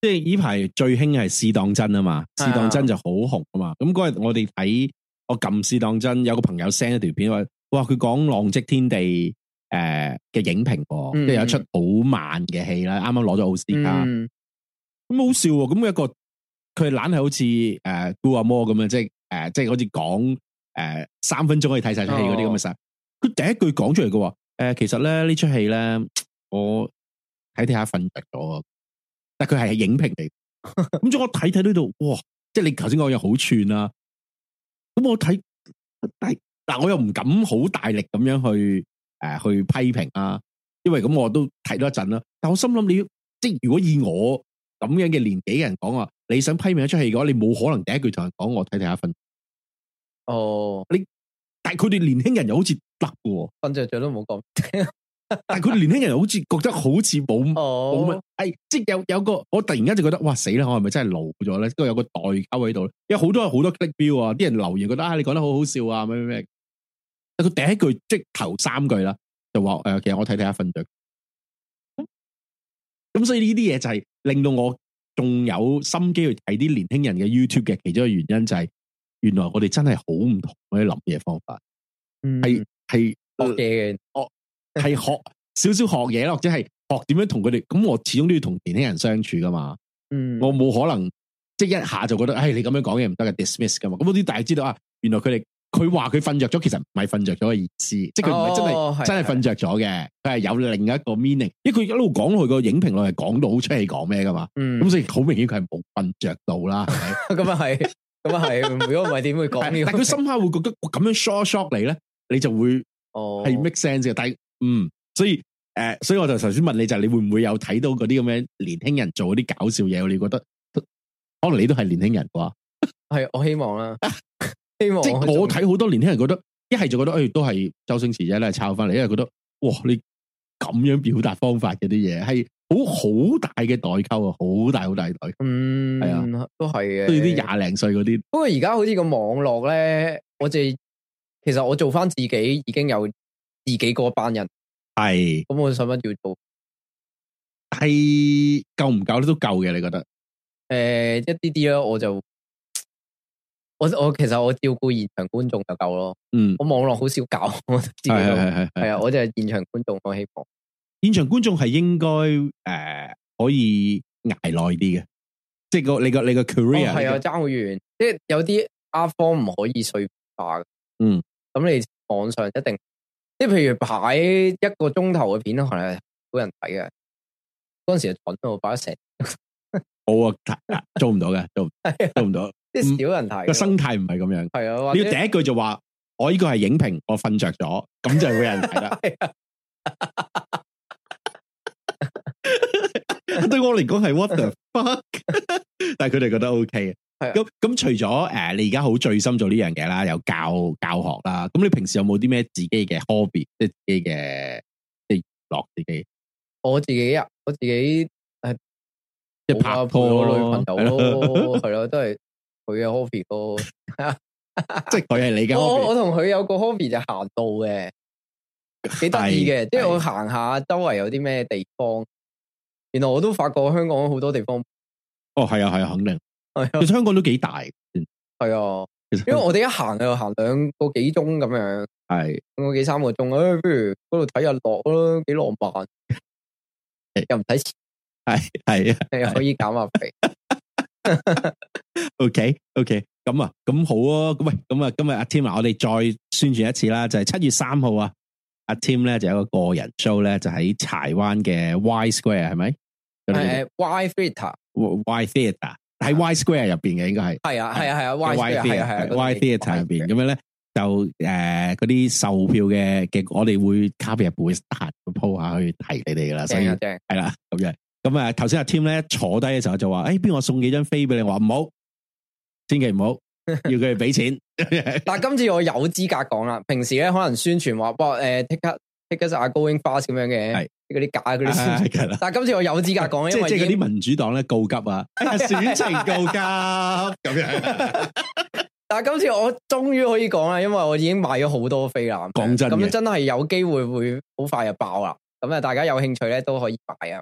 即係呢排最興係試當真啊嘛，試當真就好紅啊嘛。咁嗰日我哋睇，我撳試當真，有個朋友 send 一條片話，哇佢講《浪跡天地》誒、呃、嘅影評，即係、嗯、有一出好慢嘅戲啦，啱啱攞咗奧斯卡，咁、嗯、好笑喎。咁一個佢懶係好似誒《顧阿摩》咁樣，即係誒即係好似講誒三分鐘可以睇晒出戲嗰啲咁嘅實。佢、哦、第一句講出嚟嘅話，誒、呃、其實咧呢出戲咧我睇睇下瞓着咗。但佢係影評嚟，咁咗我睇睇呢度，哇！即係你頭先講嘢好串啦，咁我睇，但嗱我又唔敢好大力咁樣去誒、呃、去批評啊，因為咁我都睇咗一陣啦。但我心諗你，即係如果以我咁樣嘅年紀嘅人講話，你想批評一出戲嘅話，你冇可能第一句同人講我睇睇下瞓。哦，你但係佢哋年輕人又好似得嘅， 瞓着咗都冇講。 但係佢哋年輕人又好似覺得好似冇冇乜，誒，即係有有個，我突然間就覺得，哇死啦！我係咪真係老咗咧？都有個代溝喺度，因為好多好多 click 標啊，啲人留言覺得啊，你講得好好笑啊，咩咩咩。但佢第一句即係頭三句啦，就話誒、呃，其實我睇睇下瞓着。咁所以呢啲嘢就係令到我仲有心機去睇啲年輕人嘅 YouTube 嘅其中一個原因就係，原來我哋真係好唔同嗰啲諗嘢方法，係係學嘅，我。 係學少少學嘢咯，或者係學點樣同佢哋。咁我始終都要同年輕人相處噶嘛。嗯，我冇可能即係一下就覺得，唉，你咁樣講嘢唔得嘅 dismiss 噶嘛。咁嗰啲大家知道啊，原來佢哋佢話佢瞓着咗，其實唔係瞓着咗嘅意思，即係佢唔係真係、哦、真係瞓着咗嘅，佢係有另一個 meaning。因為佢一路講佢個影評內係講到好出戲講咩噶嘛。嗯，咁所以好明顯佢係冇瞓着到啦。 咁啊係，咁啊係。如果唔係點會講呢？ 但佢深刻會覺得咁樣 short short 你咧，你就會哦係 make sense 嘅。但係嗯，所以誒、呃，所以我就頭先問你就係你會唔會有睇到嗰啲咁樣年輕人做嗰啲搞笑嘢？你覺得可能你都係年輕人啩？ 係我希望啦，希望即係我睇好多年輕人覺得一係就覺得誒、哎、都係周星馳啫，咧抄翻嚟，一係覺得哇你咁樣表達方法嘅啲嘢係好好大嘅代溝啊，好大好大代溝。嗯，係啊， 都係嘅。 對啲廿零歲嗰啲， 不過而家好似個網絡咧，我哋其實我做翻自己已經有。自己嗰班人係，咁我使乜要做？ 係夠唔夠咧？都夠嘅，你覺得？誒、 呃，一啲啲咯，我就我我其實我照顧現場觀眾就夠咯。嗯，我網絡好少搞，我自己係係係係啊，我就係現場觀眾，我希望現場觀眾係應該誒、呃、可以捱耐啲嘅，即係個你個你個 career 係啊，爭好遠，即係有啲 art form 唔可以碎化嘅。嗯，咁你網上一定。即係譬如擺一個鐘頭嘅片，可能係好人睇嘅。嗰陣時就蠢到擺咗成， 我啊做唔到嘅，做做唔到。 即係少人睇個生態唔係咁樣。 係啊， 你要第一句就話我呢個係影評，我瞓着咗，咁就會有人睇啦。對我嚟講係 what the fuck， 但係佢哋覺得 OK 嘅。咁咁除咗誒、呃，你而家好醉心做呢樣嘢啦，有教教學啦。咁你平時有冇啲咩自己嘅 hobby，即係自己嘅即係樂自己？ 我自己啊，我自己誒， 即係拍拖我女朋友咯，係咯，都係佢嘅 hobby 咯。 即係佢係你嘅 hobby。 我我同佢有個 hobby 就行道嘅，幾得意嘅。即係我行下周圍有啲咩地方，原來我都發覺香港好多地方。 哦，係啊，係啊，肯定。其實香港都幾大， 係啊，因為我哋一行就行兩個幾鐘咁樣，係兩個幾三個鐘，誒、哎，不如嗰度睇日落咯，幾浪漫，又唔使錢，係係啊，又可以減下肥。 OK OK，咁啊，咁好啊，咁喂，咁啊，今日阿 Tim 啊，我哋再宣傳一次啦，就係、是、七月三號啊，阿 Tim 咧就有一個個人 show 咧，就喺柴灣嘅 Y Square 係咪？ 誒 Y Theatre，Y Theatre。喺 Y Square 入邊嘅應該係係啊係啊係啊 Y Square 係啊係 Y Theatre 入邊咁樣咧就誒嗰啲售票嘅嘅我哋會卡比日會彈個 po 下去提你哋噶啦，所以係啦咁樣咁啊頭先阿 Tim 咧坐低嘅時候就話誒邊個送幾張飛俾你，我話唔好，千祈唔好，要佢哋俾錢。 但係今次我有資格講啦，平時咧可能宣傳話哇誒 ticket tickets are going fast 咁樣嘅。係嗰啲假嗰啲宣傳，但係今次我有資格講，因為即係嗰啲民主黨咧告急啊，選情告急咁樣。 但係今次我終於可以講啦，因為我已經買咗好多飛啦。 講真嘅， 咁真係有機會會好快就爆啦。咁啊，大家有興趣咧都可以買啊。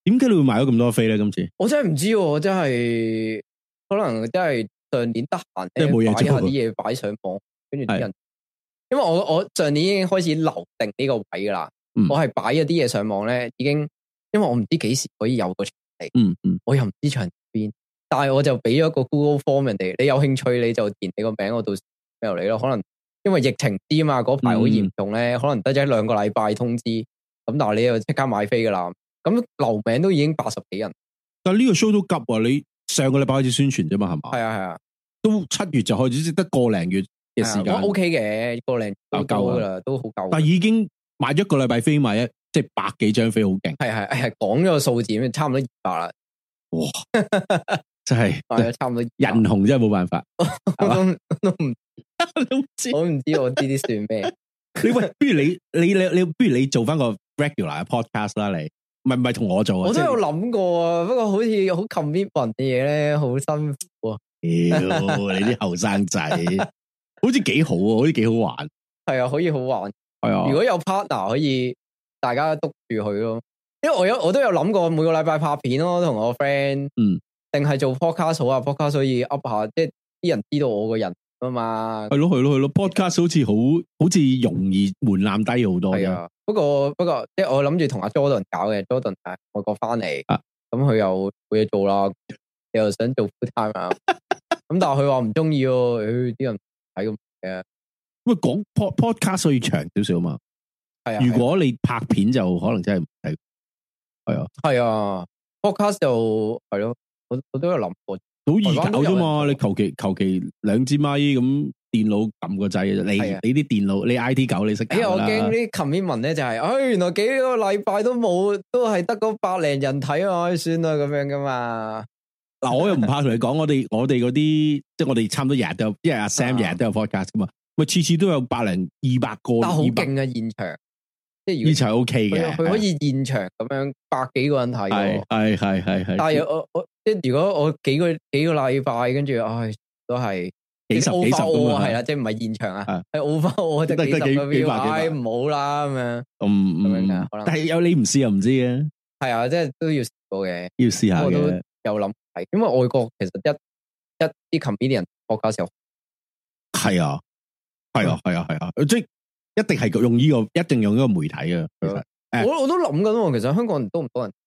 點解你會買咗咁多飛咧？今次我真係唔知，我真係可能真係上年得閒咧，擺下啲嘢擺上網，跟住啲人，因為我我上年已經開始留定呢個位噶啦，嗯、我係擺咗啲嘢上網咧，已經因為我唔知幾時可以有個場地，嗯嗯，我又唔知場邊，但係我就俾咗個 Google Form 人哋，你有興趣你就填你個名，我到時 mail 你咯。可能因為疫情啲嘛，嗰排好嚴重咧，嗯、可能得咗一兩個禮拜通知，咁但係你又即刻買飛噶啦。咁留名都已經八十幾人， 但係呢個 show 都急啊！你上個禮拜開始宣傳啫嘛，係嘛？ 係啊係啊， 都七月就開始，只得個零月嘅時間。 O K 嘅，個零都夠噶啦，都好夠。 但係已經買咗一個禮拜飛，買一即係百幾張飛，好勁。 係係係，講咗個數字，差唔多二百啦。 哇！真係， 係差唔多人紅真係冇辦法， 我都都唔都唔知，我唔知我呢啲算咩？ 你喂，不如你你你你，不如你做翻個 regular 嘅 podcast 啦，你。唔係唔係同我做啊！ 我都有諗過啊，不過好似好 commitment 嘅嘢咧，好辛苦啊！ 屌你啲後生仔，好似幾好啊，好似幾好玩。 係啊，可以好玩。係啊，如果有 partner 可以大家督住佢咯。因為我有我都有諗過每個禮拜拍片咯，同我 friend。嗯。定係做 podcast 好啊 ，podcast 可以 up 下，即係啲人知道我個人啊嘛。係咯係咯係咯 ，podcast 好似好好似容易門檻低好多。係啊。不過不過，即係我諗住同阿 Jordan 搞嘅，Jordan 係外國翻嚟，咁佢又冇嘢做啦，你又想做 full time 啊？咁但係佢話唔中意哦，誒，啲人睇咁嘅。喂，講 pod podcast 可以長少少嘛？係啊。如果你拍片就可能真係唔睇。係啊。係啊 ，podcast 就係咯，我我都有諗過，好易搞啫嘛。你求其求其兩支咪咁。電腦撳個掣，你你啲電腦，你 I T 狗你識搞啦。我驚啲 commitment 咧就係，哎，原來幾個禮拜都冇，都係得嗰百零人睇啊，算啦咁樣噶嘛。嗱，我又唔怕同你講，我哋我哋嗰啲，即係我哋差唔多日日都有，因為阿 Sam 日日都有 podcast 噶嘛，咪次次都有百零二百個。但係好勁啊，現場，即係現場 OK 嘅，佢可以現場咁樣百幾個人睇。係係係係係。但係我我即係如果我幾個幾個禮拜，跟住唉都係。幾十幾十咁啊，係啦，即係唔係現場啊，係 over 我得幾十個 view，唉唔好啦咁樣，咁樣噶，可能。但係有你唔試又唔知嘅，係啊，即係都要試過嘅，要試下嘅。我都有諗係，因為外國其實一一啲 comedian 國家時候係啊，係啊，係啊，係啊，即係一定係用呢個，一定用呢個媒體啊。其實我我都諗緊，其實香港人多唔多人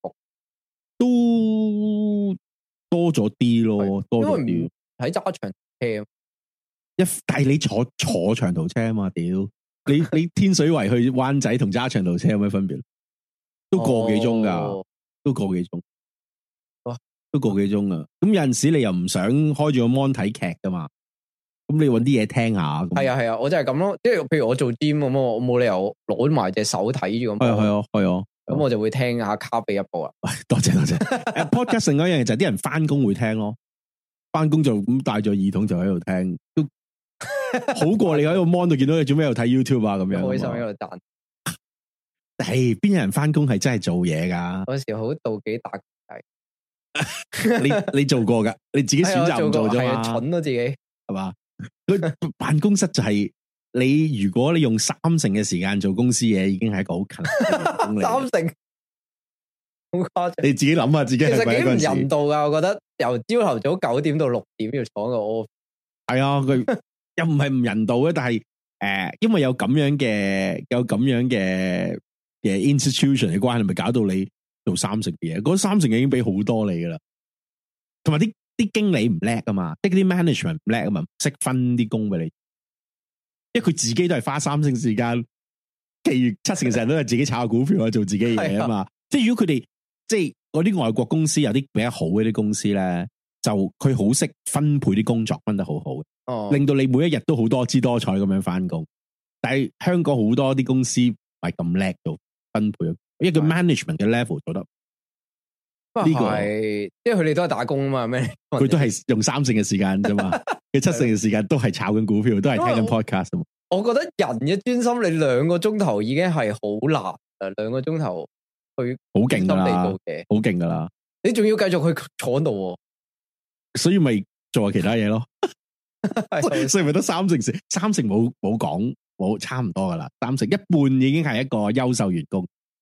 都多咗啲咯，多咗啲喺揸長。車一，但係你坐坐長途車啊嘛，屌你你天水圍去灣仔同揸長途車有咩分別？都個幾鐘噶，哦、都個幾鐘，哇都個幾鐘啊！咁有陣時你又唔想開住個 mon 睇劇噶嘛？咁你搵啲嘢聽下。係啊係啊，我就係咁咯。即係譬如我做 gym 咁，我冇理由攞埋隻手睇住咁。係啊係啊係啊，咁我就會聽下卡比一部啊。多謝多謝。誒，podcast 另外一樣嘢就係啲人翻工會聽咯。翻工就咁帶咗耳筒就喺度聽，都好過你喺個 mon 度見到你做咩喺度睇 YouTube 啊咁樣。開心喺度彈。誒，邊有人翻工係真係做嘢噶？嗰時好妒忌打機。你你做過噶？你自己選擇唔做啫嘛？蠢咯自己係嘛？佢辦公室就係你，如果你用三成嘅時間做公司嘢，已經係一個好勤力。三成。好誇張！你自己諗下自己係咪一個人？其實幾唔人道噶，我覺得由朝頭早九點到六點要坐個 office。係啊，佢又唔係唔人道嘅，但係誒、呃，因為有咁樣嘅有咁樣嘅嘅 institution 嘅關係，咪搞到你做三成嘅嘢。嗰三成已經俾好多你噶啦，同埋啲啲經理唔叻啊嘛，即係啲 management 唔叻啊嘛，識分啲工俾你，因為佢自己都係花三成時間，其餘七成成日都係自己炒下股票啊，做自己嘢啊嘛。即係如果佢哋。即係嗰啲外國公司有啲比較好嘅啲公司咧，就佢好識分配啲工作，分得好好嘅，哦、令到你每一日都好多姿多彩咁樣翻工。但係香港好多啲公司唔係咁叻到分配，因為佢 management 嘅 level 做得呢、這個係，即係佢哋都係打工啊嘛，咩？佢都係用三成嘅時間啫嘛，佢七成嘅時間都係炒緊股票，都係聽緊 podcast 啊嘛。我覺得人嘅專心，你兩個鐘頭已經係好難誒，兩個鐘頭。佢好勁噶啦，好勁噶啦！你仲要繼續去坐度，所以咪做下其他嘢咯。所以咪得三成時，三成冇冇講，冇差唔多噶啦。三成一半已經係一個優秀員工，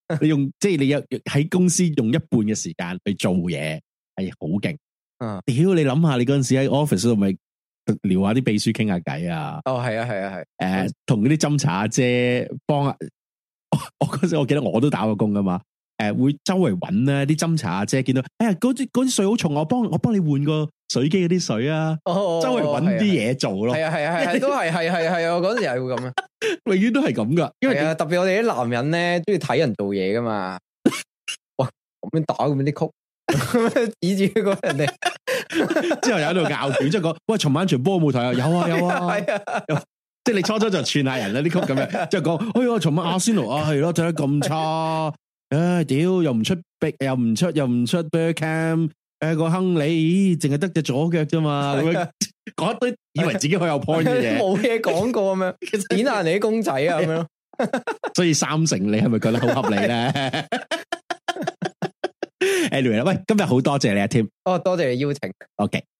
你用即係你有喺公司用一半嘅時間去做嘢，係好勁。 嗯， 屌你諗下，你嗰陣時喺 office 度咪聊下啲秘書傾下偈啊？ 哦，係啊，係啊，係。誒、 呃，同嗰啲斟茶阿姐幫啊，我嗰陣時我記得我都打過工噶嘛。誒、呃，會周圍揾咧啲斟茶阿姐，見到哎呀嗰啲嗰啲水好重，我幫我幫你換個水機嗰啲水啊。哦，周圍揾啲嘢做咯。係啊係啊係，都係係係係啊！嗰陣時係會咁啊，永遠都係咁噶。因為啊，特別我哋啲男人咧，中意睇人做嘢噶嘛。哇，咁樣打咁樣啲曲。指住嗰人哋，之後有喺度拗拳，即係講喂，尋晚場波冇睇啊？有啊有啊，係啊，即係你初初就串下人啦啲曲咁樣，即係講，哎呀，尋晚阿仙奴啊係咯，睇得咁差，唉屌，又唔出逼，又唔出又唔出 Bergkamp，誒個亨利，咦，淨係得隻左腳啫嘛，咁樣講一堆以為自己好有 point 嘅嘢，冇嘢講過咁樣，點下人哋啲公仔啊咁樣，所以三成你係咪覺得好合理咧？Anyway 啦，喂，今日好多謝你啊，Tim。哦，多謝你邀請。OK。